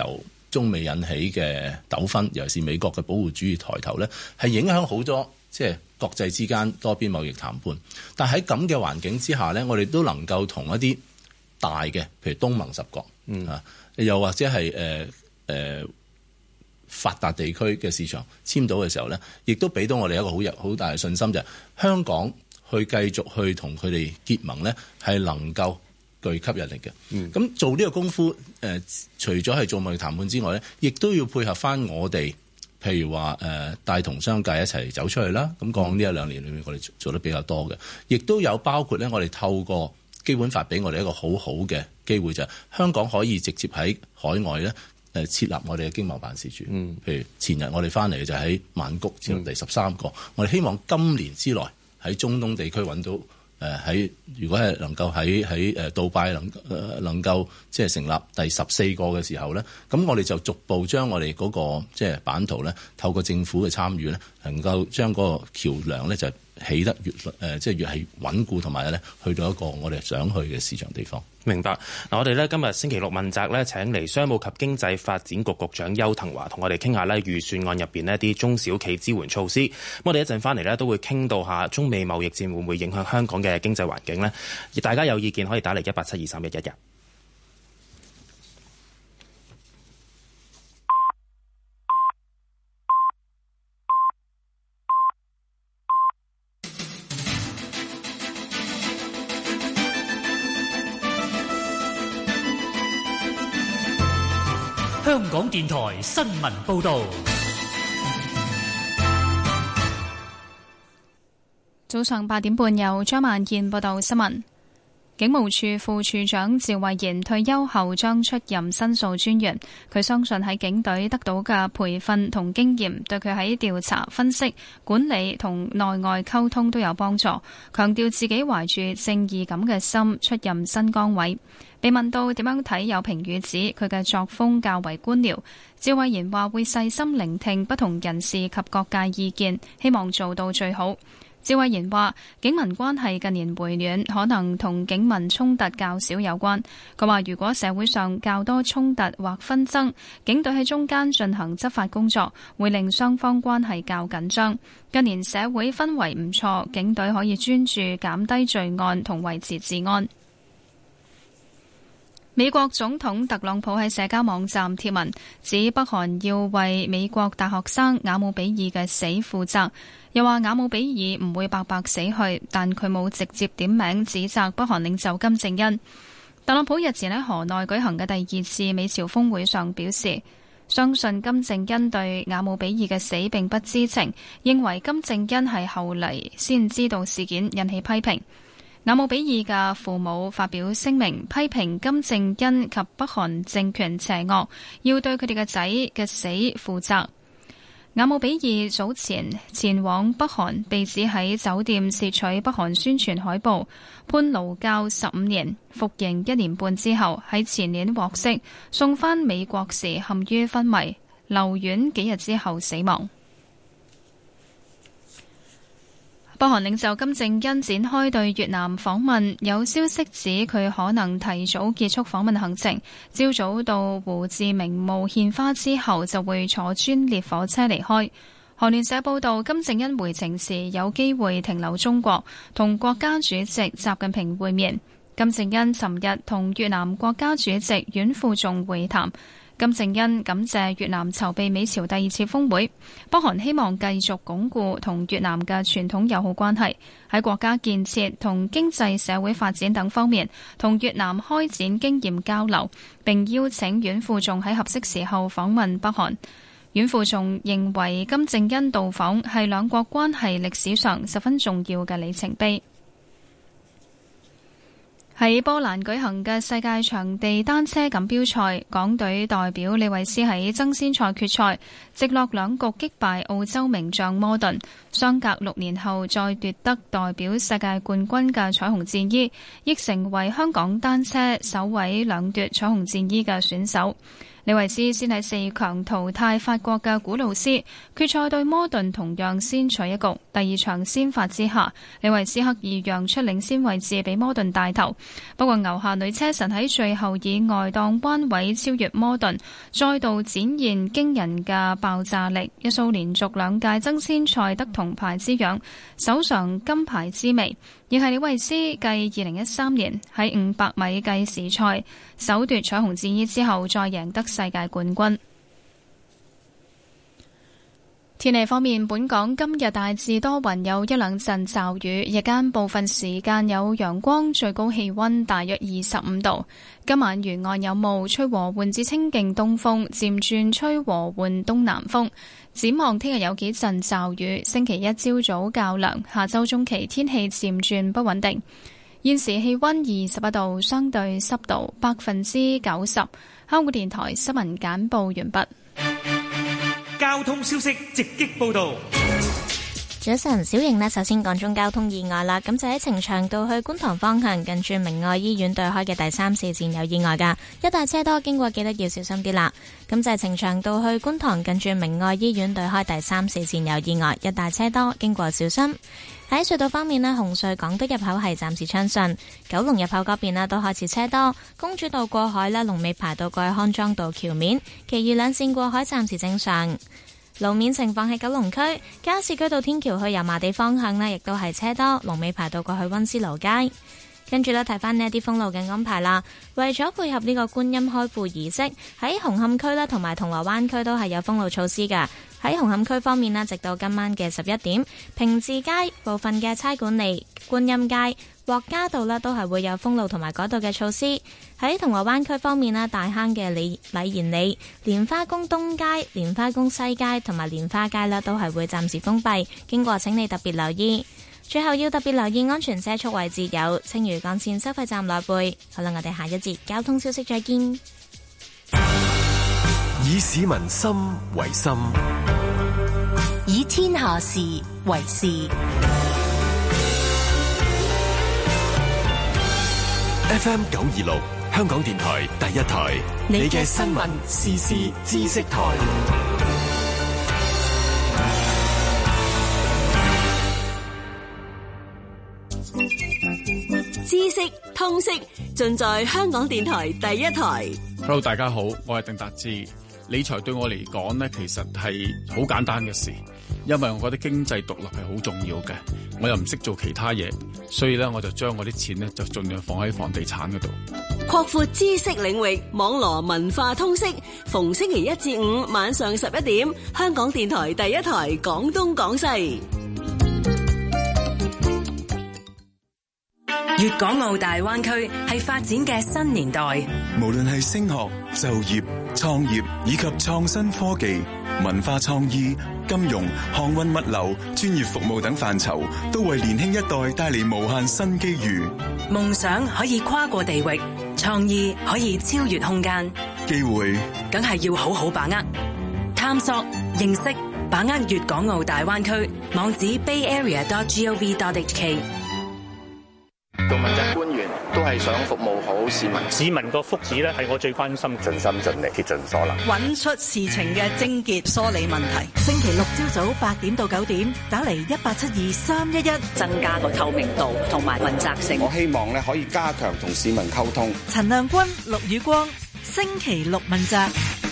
中美引起嘅糾紛，尤其是美國嘅保護主義抬頭咧，係影響好多即係國際之間多邊貿易談判。但喺咁嘅環境之下咧，我哋都能夠同一啲大嘅，譬如東盟十國，嗯啊，又或者係誒誒發達地區嘅市場簽到嘅時候咧，亦都俾到我哋一個好有好大嘅信心，就係香港去繼續去同佢哋結盟咧，係能夠具吸引力嘅。咁、嗯、做呢個功夫，誒、呃、除咗係做貿易談判之外咧，亦都要配合翻我哋，譬如話誒、呃、帶同商界一齊走出去啦。咁講呢一兩年裏面，我哋做得比較多嘅，亦都有包括咧，我哋透過基本法俾我哋一個好好嘅機會，就係香港可以直接喺海外咧誒設立我哋嘅經貿辦事處。嗯，譬如前日我哋翻嚟就喺曼谷設立第十三個，嗯、我哋希望今年之內喺中東地區揾到。誒喺如果係能夠喺喺誒杜拜能誒能夠即係成立第十四個嘅時候咧，咁我哋就逐步將我哋嗰個即係版圖咧，透過政府嘅參與咧，能夠將嗰個橋梁咧就起得越誒即係越係穩固，同埋咧去到一個我哋想去嘅市場地方。明白。嗱，我哋咧今日星期六問責咧請嚟商務及經濟發展局局長邱騰華同我哋傾下咧預算案入邊呢啲中小企支援措施。咁我哋一陣翻嚟咧都會傾到下中美貿易戰會唔會影響香港嘅經濟環境呢？而大家有意見可以打嚟一八七二三一一嘅。 香港電台新聞報導。 早上八點半，由張萬燕報道新聞。警務處副處長趙慧賢退休後將出任申訴專員。佢相信喺警隊得到嘅培訓同經驗，對佢喺調查、分析、管理同內外溝通都有幫助。強調自己懷住正義感嘅心出任新崗位。被問到點樣睇有評語指佢嘅作風較為官僚，趙慧賢話會細心聆聽不同人士及各界意見，希望做到最好。趙慧賢話警民關係近年回暖，可能同警民衝突較少有關。佢話如果社會上較多衝突或紛爭，警隊喺中間進行執法工作，會令雙方關係較緊張。近年社會氛圍唔錯，警隊可以專注減低罪案同維持治安。美國總統特朗普喺社交網站貼文，指北韓要為美國大學生雅姆比爾嘅死負責，又話雅姆比爾唔會白白死去，但佢冇直接點名指責北韓領袖金正恩。特朗普日前喺河內舉行嘅第二次美朝峰會上表示，相信金正恩對雅姆比爾嘅死並不知情，認為金正恩係後嚟先知道事件，引起批評。雅姆比爾嘅父母發表聲明，批評金正恩及北韓政權邪惡，要對佢哋嘅仔嘅死負責。雅姆比爾早前前往北韓，被指喺酒店竊取北韓宣傳海報，判勞教十五年，服刑一年半之後，喺前年獲釋，送返美國時陷於昏迷，留院幾日之後死亡。北韓領袖金正恩展開對越南訪問，有消息指佢可能提早結束訪問行程，朝早到胡志明墓獻花之後就會坐專列火車離開。韓聯社報道，金正恩回程時有機會停留中國，同國家主席習近平會面。金正恩尋日同越南國家主席阮富仲會談。金正恩感謝越南籌備美朝第二次峰會，北韓希望繼續鞏固同越南嘅傳統友好關係，喺國家建設同經濟社會發展等方面同越南開展經驗交流，並邀請阮富仲喺合適時候訪問北韓。阮富仲認為金正恩到訪係兩國關係歷史上十分重要嘅里程碑。喺波蘭舉行嘅世界場地單車錦標賽，港隊代表李慧詩喺爭先賽決賽直落兩局擊敗澳洲名將摩頓，相隔六年後再奪得代表世界冠軍嘅彩虹戰衣，亦成為香港單車首位兩奪彩虹戰衣嘅選手。 李維斯先喺四強淘汰法國嘅古魯斯，決賽對摩頓同樣先取一局。第二場先發之下，李維斯刻意讓出領先位置俾摩頓帶頭。不過牛下女車神喺最後以外檔彎位超越摩頓，再度展現驚人嘅爆炸力，一掃連續兩屆爭先賽得銅牌之癢，手上金牌之味。亦係李維斯繼二零一三年喺五百米計時賽首奪彩虹戰衣之後，再贏得世界冠軍。天氣方面，本港今日大致多雲，有一兩陣驟雨，日間部分時間有陽光，最高氣溫大約二十五度。今晚沿岸有霧，吹和緩至清勁東風，漸轉吹和緩東南風。展望聽日有幾陣驟雨，星期一朝早較涼，下周中期天氣漸轉不穩定。現時氣溫二十一度，相對濕度百分之九十。香港電台新聞簡報完畢。 交通消息直擊報道。 早晨，小瑩呢，首先講中交通意外啦。咁就喺呈祥道去觀塘方向，近住明愛醫院對開嘅第三四線有意外噶，一帶車多，經過記得要小心啲啦。咁就係呈祥道去觀塘，近住明愛醫院對開第三四線有意外，一帶車多，經過小心。喺隧道方面呢，紅隧港島入口係暫時暢順，九龍入口嗰邊呢都開始車多，公主道過海啦，龍尾排到過去康莊道橋面，其餘兩線過海暫時正常。路面情況喺九龍區加士居道天橋去油麻地方向呢，亦都係車多，龍尾排到過去溫思勞街。跟住呢，睇翻呢一啲封路嘅安排啦。為咗配合呢個觀音開庫儀式，喺紅磡區啦同埋銅鑼灣區都係有封路措施嘅。喺紅磡區方面呢，直到今晚嘅十一點，平治街部分嘅差館里、觀音街、獲嘉道呢都係會有封路同埋改道嘅措施。喺銅鑼灣區方面呢，大坑嘅禮禮賢里、蓮花宮東街、蓮花宮西街同埋蓮花街呢都係會暫時封閉，經過請你特別留意。最後要特別留意安全車速位置有青嶼幹線收費站內背。好啦，我哋下一節交通消息再見。 以市民心為心， 以天下事為事。 F M 九二六，香港電台第一台，你嘅新聞時事知識台。 知識通識盡在香港電台第一台。 Hello， 大家好，我係鄧達志。理財對我嚟講呢，其實係好簡單嘅事，因為我覺得經濟獨立係好重要嘅。我又唔識做其他嘢，所以咧我就將我啲錢呢就盡量放喺房地產嗰度。 擴闊知識領域，網羅文化通識。逢星期一至五晚上十一點，香港電台第一台廣東廣西。 粵港澳大灣區係發展嘅新年代， 無論係升學、就業、創業以及創新科技、文化創意、金融、航運物流、專業服務等範疇，都為年輕一代帶嚟無限新機遇。 夢想可以跨過地域，創意可以超越空間， 機會梗係要好好把握。探索、認識、把握粵港澳大灣區，網址 bay area dot gov dot h k。 做問責官員都係想服務好市民， 市民個福祉咧係我最關心， 盡心盡力竭盡所能， 揾出事情嘅症結，梳理問題。星期六朝早八點到九點，打嚟一八七二三一一， 增加個透明度同埋問責性。 我希望咧可以加強同市民溝通。 陳亮君、陸宇光，星期六問責。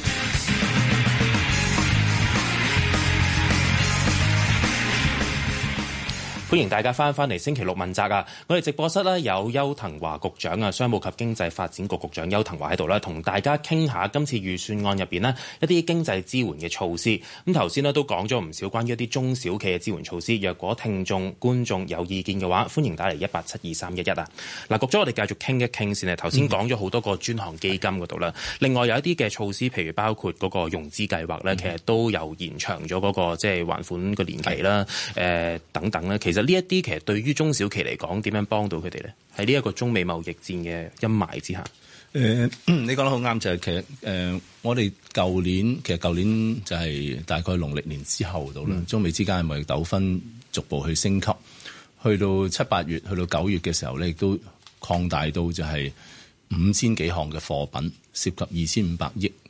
歡迎大家翻返嚟星期六問責啊！我哋直播室咧有邱騰華局長啊，商務及經濟發展局局長邱騰華喺度咧，同大家傾下今次預算案入邊呢一啲經濟支援嘅措施。咁頭先呢都講咗唔少關於一啲中小企嘅支援措施。若果聽眾觀眾有意見嘅話，歡迎打嚟一八七二三一一啊！嗱，局長，我哋繼續傾一傾先啊。頭先講咗好多個專項基金嗰度啦，另外有一啲嘅措施，譬如包括嗰個融資計劃咧，其實都有延長咗嗰個即係還款個年期啦，誒等等咧。其實呢一啲其實對於中小企嚟講，點樣幫到佢哋咧？喺呢一個中美貿易戰嘅陰霾之下， 誒、呃，你講得好啱，就係、是、其實誒、呃，我哋舊年其實舊年就係大概農曆年之後到啦，嗯、中美之間嘅貿易糾紛逐步去升級，去到七八月，去到九月嘅時候咧，亦都擴大到就係五千幾項嘅貨品，涉及二千五百億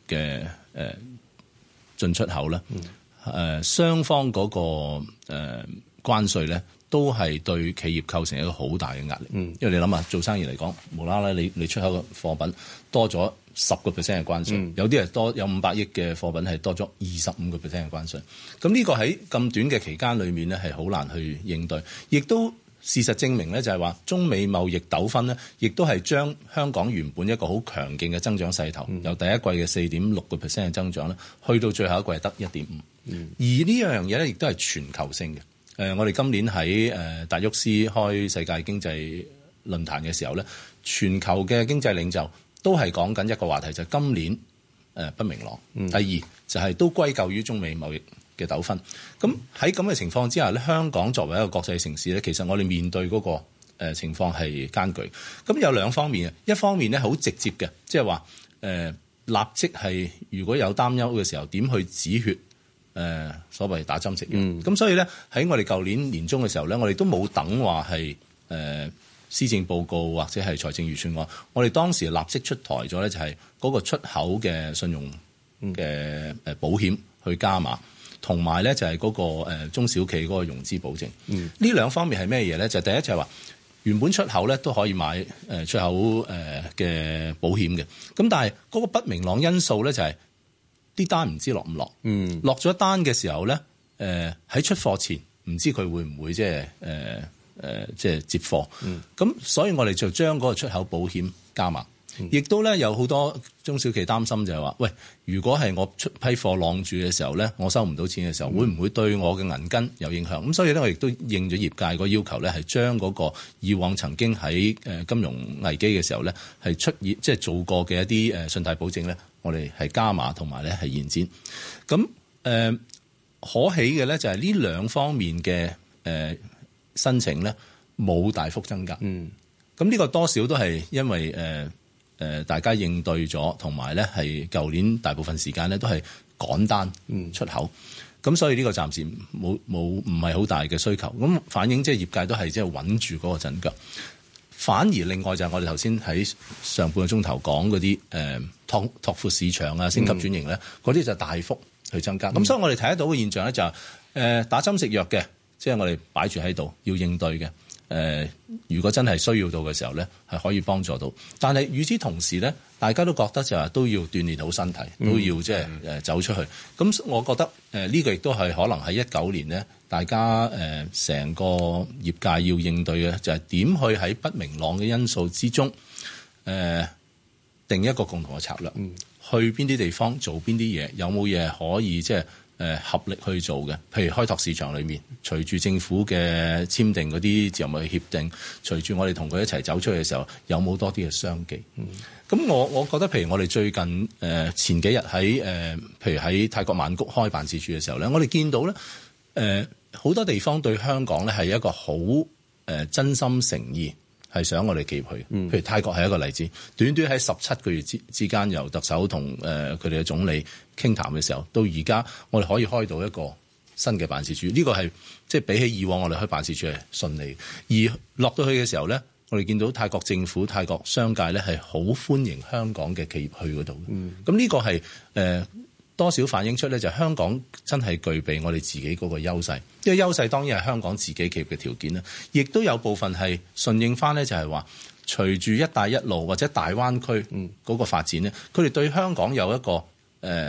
嘅誒進出口咧，誒、呃、雙方嗰、那個誒、呃、關稅咧，都係對企業構成一個好大嘅壓力。嗯，因為你諗下做生意嚟講，無啦啦你你出口嘅貨品多咗十個 percent 嘅關稅，嗯、有啲係多有五百億嘅貨品係多咗二十五個 percent 嘅關稅。咁呢個喺咁短嘅期間裏面咧，係好難去應對，亦都。事實證明咧，就係話中美貿易糾紛咧，亦都係將香港原本一個好強勁嘅增長勢頭，嗯、由第一季嘅四點六個 percent 嘅增長咧，去到最後一季係得一點五。而呢樣嘢咧，亦都係全球性嘅。誒、呃，我哋今年喺誒、呃、達沃斯開世界經濟論壇嘅時候咧，全球嘅經濟領袖都係講緊一個話題，就係、是、今年誒、呃、不明朗。嗯、第二就係、是、都歸咎於中美貿易嘅糾紛，咁喺咁嘅情況之下咧，香港作為一個國際城市咧，其實我哋面對嗰個誒情況係艱巨。咁有兩方面啊，一方面咧好直接嘅，即係話誒立即係如果有擔憂嘅時候，點去止血？誒、呃、所謂打針食藥。咁、嗯、所以咧喺我哋舊年年中嘅時候咧，我哋都冇等話係誒施政報告或者係財政預算案，我哋當時立即出台咗咧，就係嗰個出口嘅信用嘅誒保險去加碼。同埋咧就係嗰個中小企嗰個融資保證，呢、嗯、兩方面係咩嘢咧？就第一就係話原本出口咧都可以買誒出口誒嘅保險嘅，咁但係嗰個不明朗因素咧就係啲單唔知落唔落，嗯、落咗單嘅時候咧誒喺出貨前唔知佢會唔會即係誒誒即係接貨，咁、嗯、所以我哋就將嗰個出口保險加碼。亦都咧有好多中小企擔心就係話，喂，如果係我出批貨晾住嘅時候咧，我收唔到錢嘅時候，會唔會對我嘅銀根有影響？咁所以咧，我亦都應咗業界個要求咧，係將嗰個以往曾經喺誒金融危機嘅時候咧，係出現即係做過嘅一啲誒信貸保證咧，我哋係加碼同埋咧係延展。咁誒、呃、可喜嘅咧就係呢兩方面嘅誒、呃、申請咧冇大幅增加。嗯，咁呢個多少都係因為誒。呃誒，大家應對咗，同埋咧係舊年大部分時間咧都係趕單出口，咁、嗯、所以呢個暫時冇冇唔係好大嘅需求，咁反映即係業界都係即係穩住嗰個陣腳。反而另外就係我哋頭先喺上半個鐘頭講嗰啲誒拓拓闊市場啊、升級轉型咧，嗰啲、嗯、就大幅去增加。咁、嗯、所以我哋睇得到嘅現象咧就係、是、誒打針食藥嘅，即、就、係、是、我哋擺住喺度要應對嘅。誒、呃，如果真係需要到嘅時候咧，係可以幫助到。但係與此同時咧，大家都覺得就係都要鍛鍊好身體，嗯、都要即係誒走出去。咁我覺得誒呢、呃這個亦都係可能喺一九年咧，大家誒成、呃、個業界要應對嘅就係、是、點去喺不明朗嘅因素之中，誒、呃、定一個共同嘅策略，嗯、去邊啲地方做邊啲嘢，有冇嘢可以即係。誒合力去做嘅，譬如開拓市場裏面，隨住政府嘅簽訂嗰啲自由貿易協定，隨住我哋同佢一齊走出去嘅時候，有冇多啲嘅商機？咁、嗯、我我覺得，譬如我哋最近誒、呃、前幾日喺誒，譬如喺泰國曼谷開辦事處嘅時候咧，我哋見到咧誒好多地方對香港咧係一個好誒、呃、真心誠意。係想我哋企業去，譬如泰國係一個例子，短短喺十七個月之之間，由特首同誒佢哋嘅總理傾談嘅時候，到而家我哋可以開到一個新嘅辦事處，呢、這個係即係比起以往我哋開辦事處係順利。而落到去嘅時候咧，我哋見到泰國政府、泰國商界咧係好歡迎香港嘅企業去嗰度。咁呢、嗯、個係誒。呃多少反映出咧，就香港真係具備我哋自己嗰個優勢。因為優勢當然係香港自己企業嘅條件啦，亦都有部分係順應翻咧，就係話隨住一帶一路或者大灣區嗰個發展咧，佢哋對香港有一個誒、呃、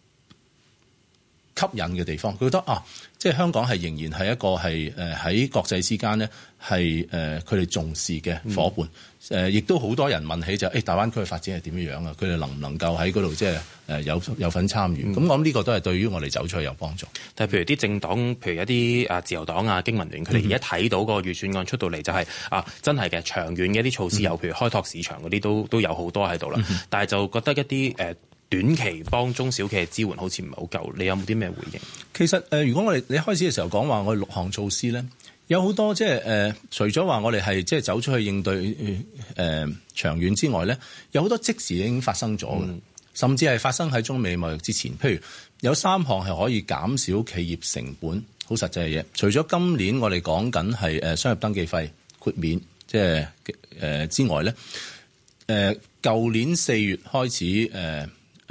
吸引嘅地方。佢覺得啊，即係香港係仍然係一個係誒喺國際之間咧係誒佢哋重視嘅伙伴。誒，亦都好多人問起就誒、欸，大灣區嘅發展係點樣樣啊？佢哋能唔能夠喺嗰度即係誒有有份參與？咁、嗯、我諗呢個都係對於我哋走出去有幫助。 但係譬如啲政黨，譬如一啲啊自由黨啊、經民聯，佢哋而家睇到個預算案出到嚟，就係、是嗯、啊真係嘅長遠嘅一啲措施，有、嗯、譬如開拓市場嗰啲都都有好多喺度啦。嗯、但係就覺得一啲誒短期幫中小企嘅支援好似唔係好夠。你有冇啲咩回應？ 其實誒、呃，如果我哋你開始嘅時候講話我哋六項措施咧。有好多即係誒，除咗話我哋係即係走出去應對誒、呃、長遠之外咧，有好多即時已經發生咗嘅，嗯、甚至係發生喺中美貿易之前。譬如有三項係可以減少企業成本，好實際嘅嘢。除咗今年我哋講緊係誒商業登記費豁免，即係誒之外咧，誒、呃、舊年四月開始誒誒、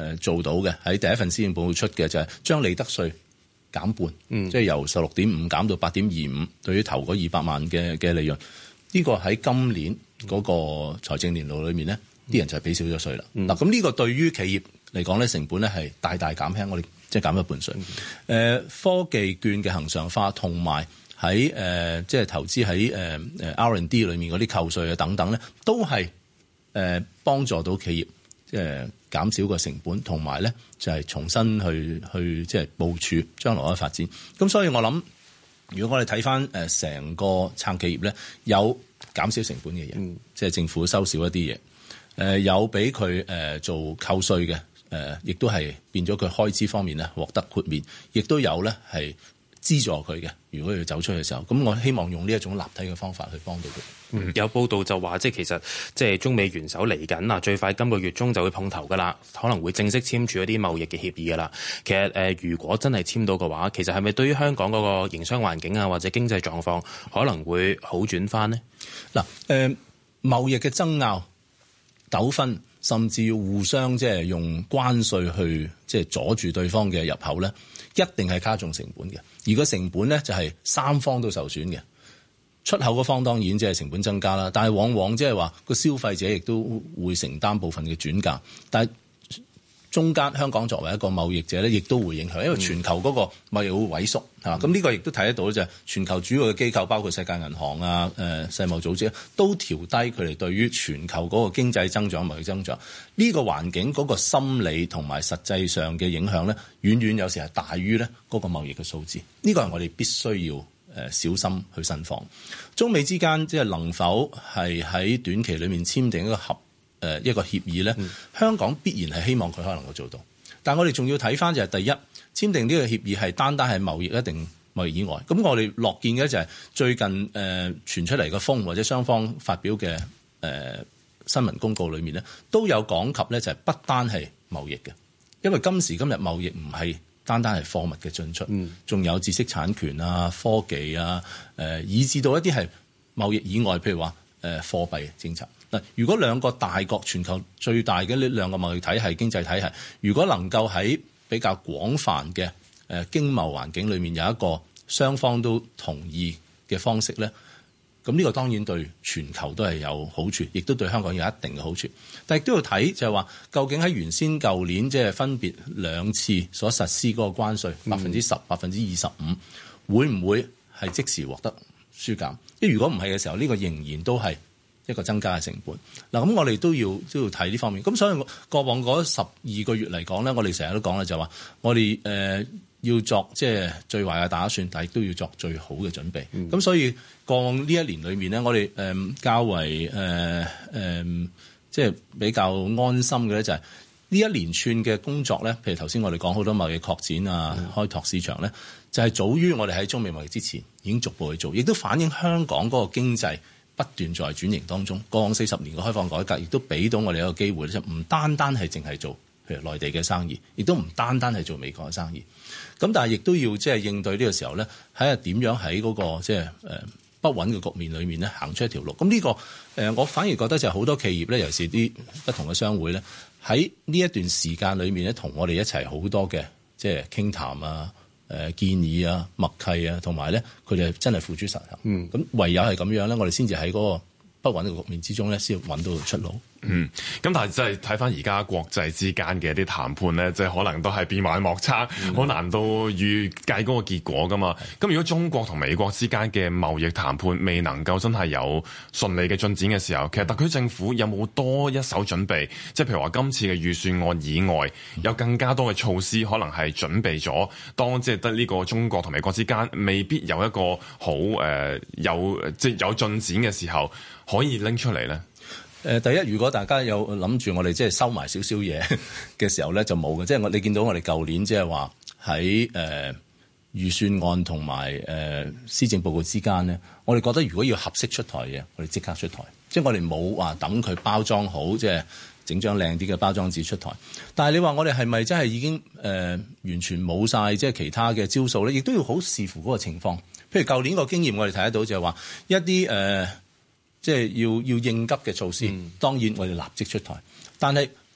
誒做到嘅，喺第一份施政報告出嘅就係將利得稅減半，嗯、即係由十六點五減到八點二五，對於頭嗰二百萬嘅嘅利潤，呢、呢個喺今年嗰個財政年度裏面咧，啲、嗯、人就係俾少咗稅啦。嗱、嗯，咁呢個對於企業嚟講咧，成本咧係大大減輕，我哋即係減一半稅。誒、嗯呃，科技券嘅恆常化同埋喺誒即係投資喺誒誒 R and D 裏面嗰啲扣稅啊等等咧，都係誒幫助到企業誒。呃減少個成本，同埋咧就係重新去去即係部署將來嘅發展。咁所以我諗，如果我哋睇翻誒成個撐企業咧，有減少成本嘅嘢，嗯、即係政府收少一啲嘢，誒有俾佢誒做扣稅嘅，誒亦都係變咗佢開支方面咧獲得豁免，亦都有咧係資助佢嘅。如果要走出去嘅時候，咁我希望用呢一種立體嘅方法去幫到佢。 嗯、有報道就話，即係其實即係中美元首嚟緊啊，最快今個月中就會碰頭噶啦，可能會正式簽署一啲貿易嘅協議噶啦。其實誒、呃，如果真係簽到嘅話，其實係咪對於香港嗰個營商環境啊，或者經濟狀況可能會好轉翻呢？ 嗱、呃，誒貿易嘅爭拗、糾紛，甚至要互相即係用關稅去即係阻住對方嘅入口咧，一定係加重成本嘅。而個成本咧就係三方都受損嘅。出口嗰方當然即係成本增加啦，但係往往即係話個消費者亦都會承擔部分嘅轉嫁，但係中間香港作為一個貿易者咧，亦都會影響，因為全球嗰個貿易會萎縮嚇，咁呢、嗯、個亦都睇得到就係全球主要嘅機構，包括世界銀行啊、誒、呃、世貿組織都調低佢哋對於全球嗰個經濟增長、貿易增長呢、這個環境嗰個心理同埋實際上嘅影響咧，遠遠有時係大於咧嗰個貿易嘅數字，呢、這個係我哋必須要。誒小心去慎防，中美之間即係能否係喺短期裏面簽訂一個合誒一個協議咧？嗯、香港必然係希望佢可能夠做到，但係我哋仲要睇翻就係第一，簽訂呢個協議係單單係貿易一定貿易以外，咁我哋樂見嘅就係最近誒、呃、傳出嚟嘅風或者雙方發表嘅誒、呃、新聞公告裏面咧，都有講及咧就係不單係貿易嘅，因為今時今日貿易唔係。單單係貨物嘅進出，仲、嗯、有知識產權啊、科技啊，誒、呃，以至到一啲係貿易以外，譬如話誒貨幣政策。嗱，如果兩個大國全球最大嘅呢兩個貿易體系、經濟體系，如果能夠喺比較廣泛嘅誒、呃、經貿環境裏面有一個雙方都同意嘅方式咧，咁呢個當然對全球都係有好處，亦都對香港有一定嘅好處。但係都要睇就係話，究竟喺原先舊年即係分別兩次所實施嗰個關稅百分之十、百分之二十五，會唔會係即時獲得紓減？因為如果唔係嘅時候，呢、這個仍然都係一個增加嘅成本。嗱，咁我哋都要都要睇呢方面。咁所以過往嗰十二個月嚟講咧，我哋成日都講咧就係話，我哋誒。呃要作即係最壞嘅打算，但係都要作最好嘅準備。咁、嗯、所以過往呢一年裏面咧，我哋誒、呃、較為誒誒、呃呃、即係比較安心嘅咧，就係呢一連串嘅工作咧。譬如頭先我哋講好多貿易擴展啊、嗯、開拓市場咧，就係、是、早於我哋喺中美貿易之前已經逐步去做，亦都反映香港嗰個經濟不斷在轉型當中。過往四十年嘅開放改革，亦都俾到我哋一個機會咧，就唔單單係淨係做譬如內地嘅生意，亦都唔單單係做美國嘅生意。咁但係亦都要即係應對呢個時候咧，睇下點樣喺嗰個即係誒不穩嘅局面裏面咧行出一條路。咁呢個誒我反而覺得就係好多企業咧，尤其是啲不同嘅商會咧，喺呢一段時間裏面咧，同我哋一齊好多嘅即係傾談啊、誒建議啊、默契啊，同埋咧佢哋真係付諸實行。嗯，咁唯有係咁樣咧，我哋先至喺嗰個不穩嘅局面之中咧，先揾到出路。 嗯，咁但係即係睇翻而家國際之間嘅一啲談判咧，即係可能都係變幻莫測，好、嗯、難到預計嗰個結果噶嘛。咁、嗯、如果中國同美國之間嘅貿易談判未能夠真係有順利嘅進展嘅時候，其實特區政府有冇多一手準備？即係譬如話今次嘅預算案以外，有更加多嘅措施，可能係準備咗，當即係得呢個中國同美國之間未必有一個好誒、呃、有即係有進展嘅時候，可以拎出嚟咧。 誒第一，如果大家有諗住我哋即係收埋少少嘢嘅時候咧，就冇嘅。即係我你見到我哋舊年即係話喺誒預算案同埋誒施政報告之間咧，我哋覺得如果要合適出台嘅，我哋即刻出台。即係我哋冇話等佢包裝好，即係整張靚啲嘅包裝紙出台。但係你話我哋係咪真係已經誒、呃、完全冇晒即係其他嘅招數咧？亦都要好視乎嗰個情況。譬如舊年個經驗，我哋睇得到就係話一啲誒。呃即係要要應急嘅措施，嗯、當然我哋立即出台。但係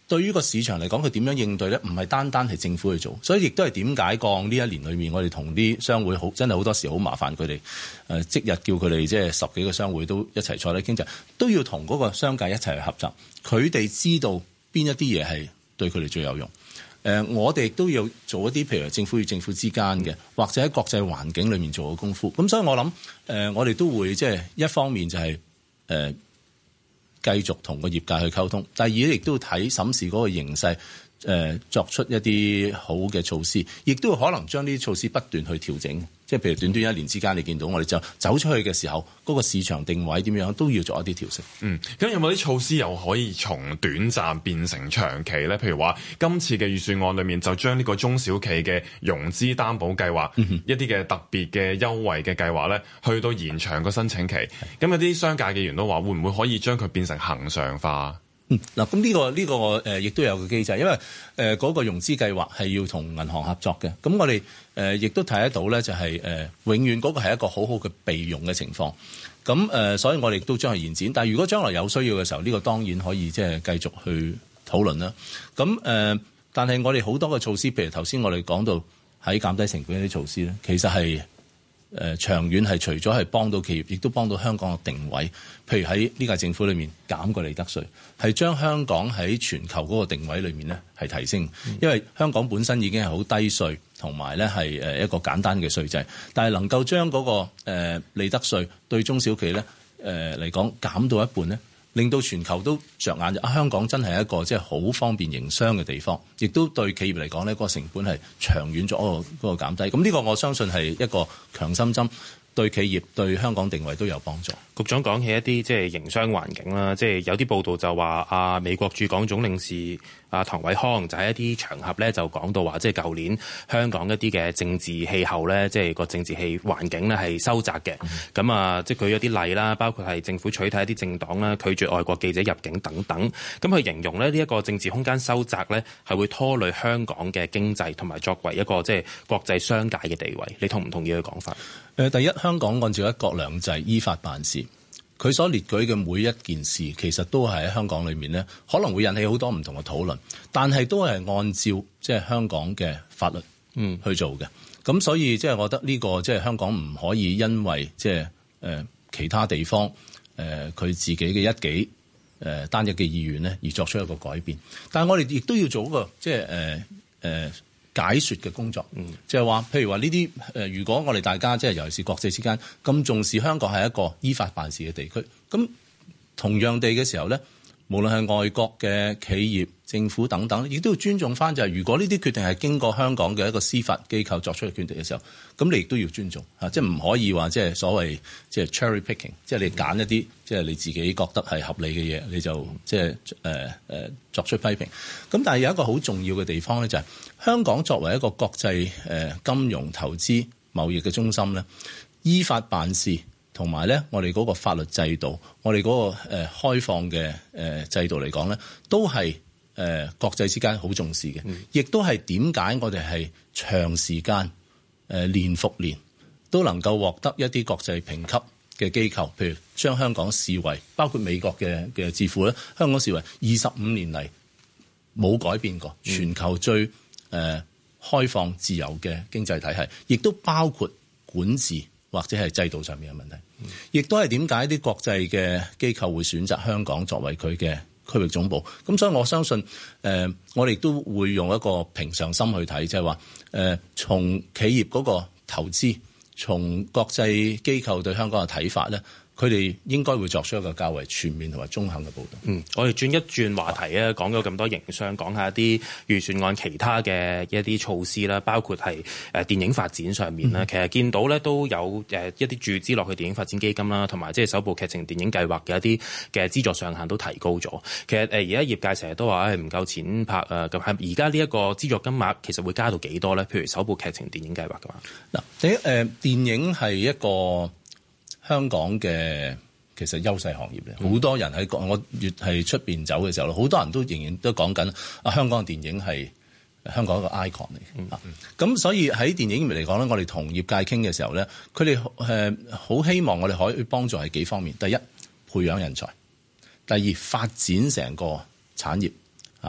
對於個市場嚟講，佢點樣應對咧？唔係單單係政府去做，所以亦都係點解過呢一年裏面，我哋同啲商會好真係好多時好麻煩佢哋誒，即日叫佢哋即係十幾個商會都一齊坐低傾偈，都要同嗰個商界一齊去合作。佢哋知道邊一啲嘢係對佢哋最有用。誒、呃，我哋都要做一啲譬如政府與政府之間嘅，或者喺國際環境裏面做嘅功夫。咁所以我諗誒、呃，我哋都會即係一方面就係、是、誒。呃繼續同個業界去溝通，第二咧亦都要睇審視嗰個形勢，誒、呃、作出一啲好嘅措施，亦都可能將呢啲措施不斷去調整。即係譬如短短一年之間，你見到我哋就走出去嘅時候，嗰、那個市場定位點樣都要做一啲調整。 嗯，咁有冇啲措施又可以從短暫變成長期咧？譬如話今次嘅預算案裏面就將呢個中小企嘅融資擔保計劃、嗯、一啲嘅特別嘅優惠嘅計劃咧，去到延長個申請期。咁有啲商界嘅員都話，會唔會可以將佢變成恆常化？ 嗯，嗱，咁呢個呢、這個誒，亦、呃、都有個機制，因為誒嗰、呃那個融資計劃係要同銀行合作嘅。咁我哋誒亦都睇得到咧，就係、是、誒、呃、永遠嗰個係一個好好嘅備用嘅情況。咁誒、呃，所以我哋都將佢延展。但係如果將來有需要嘅時候，呢、這個當然可以即係繼續去討論啦。咁誒、呃，但係我哋好多嘅措施，譬如頭先我哋講到喺減低成本一啲措施咧，其實係。誒、呃、長遠係除咗係幫到企業，亦都幫到香港嘅定位。譬如喺呢屆政府裏面減個利得稅，係將香港喺全球嗰個定位裏面咧係提升。因為香港本身已經係好低稅，同埋咧係誒一個簡單嘅稅制，但係能夠將嗰、那個、呃、利得稅對中小企咧誒嚟講減到一半咧，令到全球都着眼啊！香港真係一個即係好方便營商嘅地方，亦都對企業嚟講呢個成本係長遠咗嗰個嗰個減低。咁呢個我相信係一個強心針，對企業對香港定位都有幫助。 局長講起一啲即係營商環境啦，即係有啲報道就話啊，美國駐港總領事啊唐偉康就喺一啲場合咧就講到話，即係舊年香港一啲嘅政治氣候咧，即係個政治氣環境咧係收窄嘅。咁、嗯、啊，即係舉咗啲例啦，包括係政府取締一啲政黨啦，拒絕外國記者入境等等。咁佢形容咧呢一個政治空間收窄咧係會拖累香港嘅經濟同埋作為一個即係國際商界嘅地位。你同唔同意佢講法？ 誒，第一，香港按照一國兩制依法辦事，佢所列舉嘅每一件事，其實都係喺香港裏面呢，可能會引起好多唔同嘅討論，但係都係按照即係香港嘅法律嗯去做嘅。咁、嗯、所以即係我覺得呢個即係香港唔可以因為即係誒其他地方誒佢自己嘅一己誒單一嘅意願呢而作出一個改變。但係我哋亦都要做一個即係誒誒。呃呃解說嘅工作，嗯，就係話，譬如話呢啲誒，如果我哋大家即係尤其是國際之間咁重視香港係一個依法辦事嘅地區，咁同樣地嘅時候咧，無論係外國嘅企業、政府等等，亦都要尊重翻。就係如果呢啲決定係經過香港嘅一個司法機構作出嘅決定嘅時候，咁你亦都要尊重嚇，即係唔可以話即係所謂即係 cherry picking，即係你揀一啲即係你自己覺得係合理嘅嘢，你就即係誒誒作出批評。咁但係有一個好重要嘅地方咧，就係香港作為一個國際誒金融投資貿易嘅中心咧，依法辦事。同埋咧，我哋嗰個法律制度，我哋嗰個誒開放嘅誒制度嚟講咧，都係誒國際之間好重視嘅，亦都係點解我哋係長時間誒年復年都能夠獲得一啲國際評級嘅機構，譬如將香港視為包括美國嘅嘅智庫咧，香港視為二十五年嚟冇改變過全球最誒開放自由嘅經濟體系，亦都包括管治或者係制度上面嘅問題，亦都係點解啲國際嘅機構會選擇香港作為佢嘅區域總部。咁所以我相信，誒、呃，我哋都會用一個平常心去睇，即係話，誒、呃，從企業嗰個投資，從國際機構對香港嘅睇法咧，佢哋應該會作出一個較為全面同埋中肯嘅報導。 嗯，我哋轉一轉話題啊，講咗咁多營商，講下一啲預算案其他嘅一啲措施啦，包括係誒電影發展上面啦、嗯。其實見到咧都有誒一啲注資落去電影發展基金啦，同埋即係首部劇情電影計劃嘅一啲嘅資助上限都提高咗。其實誒而家業界成日都話誒唔夠錢拍啊，咁係而家呢一個資助金額其實會加到幾多咧？譬如首部劇情電影計劃嘅話， 嗱，第一誒電影係一個香港嘅其實優勢行業咧，好、嗯、多人喺我越係出邊走嘅時候，好多人都仍然都講緊啊，香港嘅電影係香港一個 icon 嚟嘅。咁、嗯嗯、所以喺電影業嚟講咧，我哋同業界傾嘅時候咧，佢哋誒好希望我哋可以幫助係幾方面。第一，培養人才；第二，發展成個產業啊。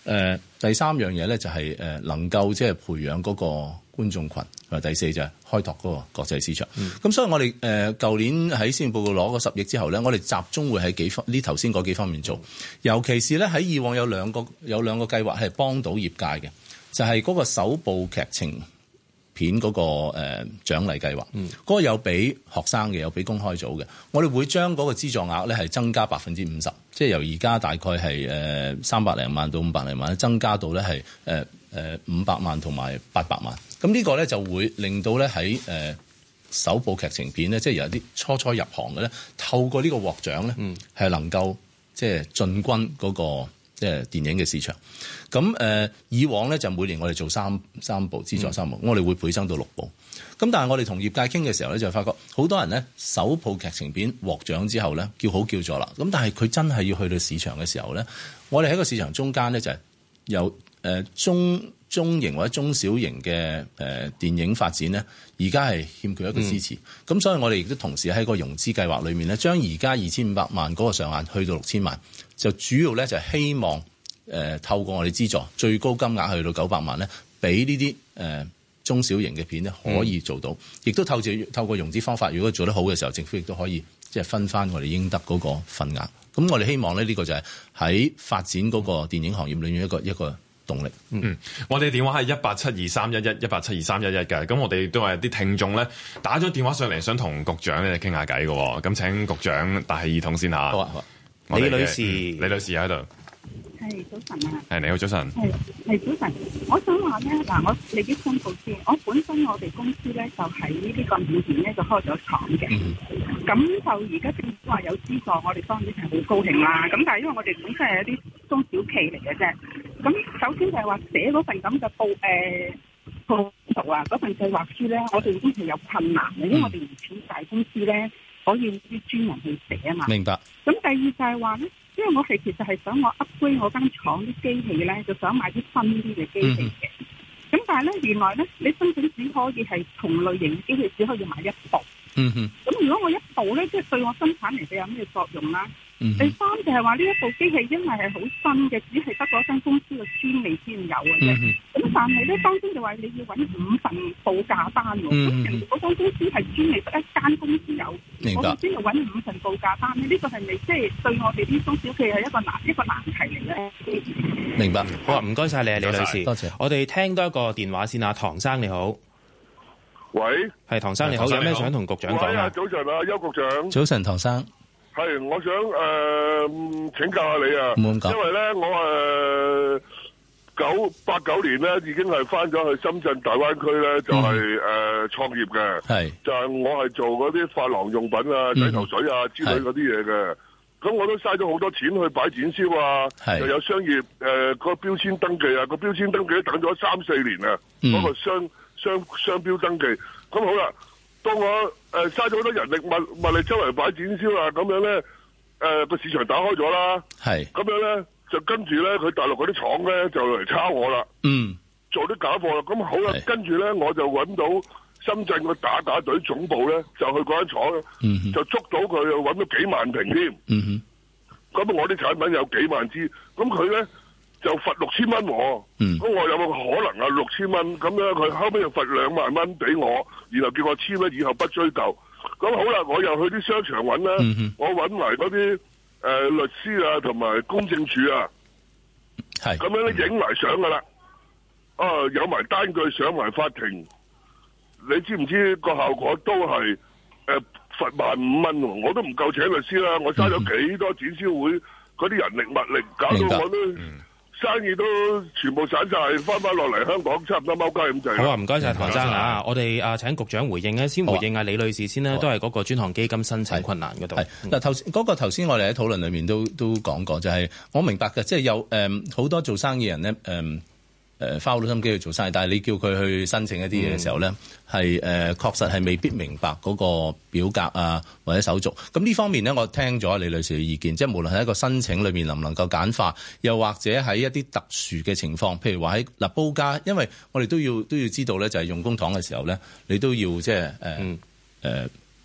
呃、第三樣嘢咧就係、是、誒、呃、能夠即係培養嗰個觀眾群，同埋第四就係開拓嗰個國際市場。咁、嗯、所以我哋誒舊年喺施政報告攞嗰十億之後咧，我哋集中會喺幾方呢頭先嗰幾方面做，尤其是咧喺以往有兩個有兩個計劃係幫到業界嘅，就係、是、嗰個首部劇情片嗰、那個誒、呃、獎勵計劃，嗰、嗯、個有俾學生嘅，有俾公開組嘅。我哋會將嗰個資助額咧係增加百分之五十，即係由而家大概係誒三百零萬到五百零萬，增加到咧係誒誒五百萬同埋八百萬。咁呢個咧就會令到咧喺誒首部劇情片咧，即係有啲初初入行嘅咧，透過呢個獲獎咧，係、嗯、能夠即係進軍嗰、那個即係電影嘅市場。咁誒、呃、以往咧就每年我哋做三三部資助三部，嗯、我哋會倍增到六部。咁但係我哋同業界傾嘅時候咧，就發覺好多人咧首部劇情片獲獎之後咧叫好叫座啦。咁但係佢真係要去到市場嘅時候咧，我哋喺個市場中間咧就係有誒、呃、中中型或者中小型嘅誒、呃、電影發展咧，而家係欠缺一個支持。咁、嗯、所以我哋亦都同時喺個融資計劃裏面咧，將而家二千五百萬嗰個上限去到六千萬，就主要咧就係希望。誒、呃、透過我哋資助，最高金額去到九百萬咧，俾呢啲誒中小型嘅片咧可以做到，亦、嗯、都透過透過融資方法，如果做得好嘅時候，政府亦都可以即係分翻我哋應得嗰個份額。咁我哋希望咧呢、這個就係喺發展嗰個電影行業裏面一個一個動力。 嗯，我哋電話係一八七二三一一一八七二三一一嘅，咁我哋都係啲聽眾咧打咗電話上嚟，想同局長咧傾下偈嘅，咁請局長戴起耳筒先嚇。好啊，好啊。李女士，李女士喺度。 係早晨啊！ 係你好，早晨。 係係早晨，我想話咧嗱，我你啲申報先，我本身我哋公司咧就喺呢個緬甸咧就開咗廠嘅，咁、嗯、就而家政府話有資助，我哋當然係好高興啦。咁但係因為我哋本身係一啲中小企嚟嘅啫，咁首先就係話寫嗰份咁嘅報誒報道啊，嗰份計劃書咧，我哋已經係有困難嘅，因為我哋唔似大公司咧可以啲專人去寫啊嘛。 明白。 咁第二就係話咧。因為我係其實係想我 upgrade 我間廠啲機器咧，就想買啲新啲嘅機器嘅。咁、嗯、但係咧，原來咧，你申請只可以係同類型機器只可以買一部。嗯哼。咁如果我一部咧，即係對我生產嚟嘅有咩作用啦？嗯。第三就係話呢一部機器因為係好新嘅，只係得嗰間公司嘅專利先有嘅啫。咁、嗯、但係咧，當中就話你要揾五份報價單喎。咁人哋嗰間公司係專利得一間公司有。明白。我哋先要揾五份報價單咧，呢、這個係咪即係對我哋啲中小企係一個難一個難題嚟咧？ 明白。 好啊，唔該晒你啊，李女士。多謝。我哋聽多一個電話先啊，唐生你好。 喂。係唐生你好，有咩想同局長講啊？ 早晨啊，邱局長。 早晨，唐生。 係，我想誒、呃、請教下你啊，因為咧我誒九八九年咧已經係翻咗去深圳大灣區咧，就係、是、誒、嗯呃、創業嘅，係就係、是、我係做嗰啲髮廊用品啊、洗頭水啊之類嗰啲嘢嘅，咁我都嘥咗好多錢去擺展銷啊，又有商業誒、呃嗰個標籤登記啊，嗰個標籤登記都等咗三四年啊，嗰、嗯嗰個商商商標登記，咁好啦。當我誒嘥咗好多人力物物力周圍擺展銷啊，咁樣咧誒個市場打開咗啦，係咁樣咧就跟住咧佢大陸嗰啲廠咧就嚟抄我啦，嗯，做啲假貨啦，咁好啦，跟住咧我就揾到深圳個打打隊總部咧，就去嗰間廠、嗯，就捉到佢，又揾到幾萬瓶添，嗯哼，咁我啲產品有幾萬支，咁佢咧就罰六千蚊我，咁、嗯、我有冇可能啊六千蚊？咁樣佢後尾又罰兩萬蚊俾我，然後叫我簽咧，以後不追究。咁好啦，我又去啲商場揾啦、嗯，我揾埋嗰啲誒律師啊，同埋公證處啊，係咁樣咧影埋相噶啦，啊有埋單據上埋法庭，你知唔知個效果都係誒罰萬五蚊？我都唔夠請律師啦，我嘥咗幾多展銷會嗰啲人力物力，搞到我都。生意都全部散晒，翻翻落嚟香港差唔多踎街咁滯。 好啊，唔該晒唐生啊！我哋啊請局長回應咧，先回應啊李女士先啦，都係嗰個專項基金申請困難嗰度。係嗱頭嗰個頭先我哋喺討論裏面都都講過，就係、是、我明白嘅，即係有誒好、呃、多做生意人咧誒。呃誒花好多心機去做生意，但係你叫佢去申請一啲嘢嘅時候咧，係、嗯、誒、呃、確實係未必明白嗰個表格啊或者手續。咁呢方面咧，我聽咗李女士嘅意見，即係無論係一個申請裏面能唔能夠簡化，又或者喺一啲特殊嘅情況，譬如話喺嗱報價，因為我哋都要都要知道咧，就係用公帑嘅時候咧，你都要即係誒誒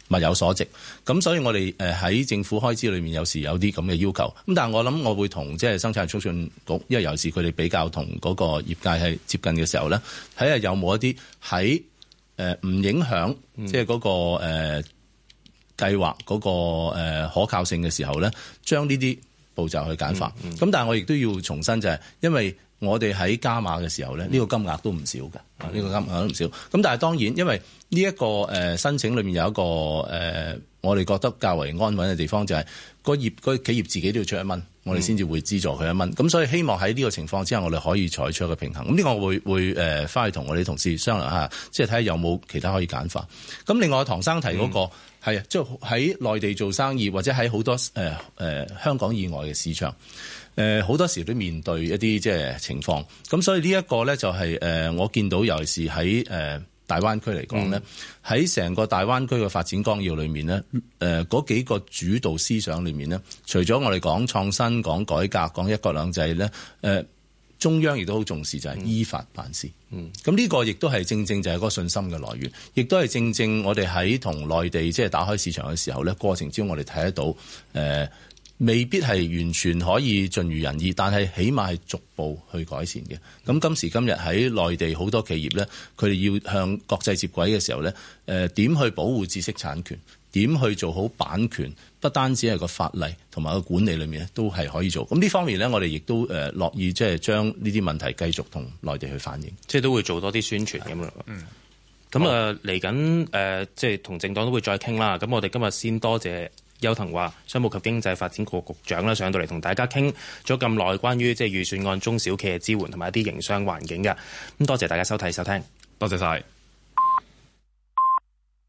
物有所值。咁所以我哋誒喺政府開支裏面有時有啲咁嘅要求。咁但係我諗我會同即係生產促進局，因為尤其是佢哋比較同嗰個業界係接近嘅時候咧，睇下有冇一啲喺誒唔影響即係嗰個誒、呃、計劃嗰個誒可靠性嘅時候咧，將呢啲步驟去簡化。咁、嗯嗯、但係我亦都要重申就係、是，因為我哋喺加碼嘅時候咧，呢、這個金額都唔少㗎，呢、嗯這個金額都唔少。咁但係當然，因為呢、這、一個誒、呃、申請裏面有一個誒、呃，我哋覺得較為安穩嘅地方就係、是、個業個企業自己都要出一蚊，我哋先至會資助佢一蚊。咁、嗯、所以希望喺呢個情況之下，我哋可以採取一個平衡。咁呢個我會會誒翻去同我哋同事商量下，即係睇下有冇其他可以簡化。咁另外唐生提嗰、那個係啊，即係喺內地做生意或者喺好多誒誒、呃呃、香港以外嘅市場。誒、呃、好多時都面對一啲即係情況，咁所以呢一個咧就係、是、誒、呃、我見到尤其是喺誒、呃、大灣區嚟講咧，喺成、嗯、個大灣區嘅發展綱要裏面咧，誒嗰幾個主導思想裏面咧，除咗我哋講創新、講改革、講一國兩制咧，誒、呃、中央亦都好重視就係依法辦事。嗯，咁呢個亦都係正正就係嗰個信心嘅來源，亦都係正正我哋喺同內地即係打開市場嘅時候咧，過程之中我哋睇得到誒。呃未必係完全可以盡如人意，但係起碼係逐步去改善嘅。咁今時今日喺內地好多企業咧，佢哋要向國際接軌嘅時候咧，誒點去保護知識產權，點去做好版權，不單止係個法例同埋個管理裏面咧，都係可以做。咁呢方面咧，我哋亦都誒樂意即係將呢啲問題繼續同內地去反映， 即係都會做多啲宣傳咁樣。嗯。咁啊，嚟緊誒，即係同政黨都會再傾啦。咁我哋今日先多謝邱騰華商務及經濟發展局局長啦，上到嚟同大家傾咗咁耐關於即係預算案中小企嘅支援同埋一啲營商環境嘅。咁多謝大家收睇收聽， 多謝晒。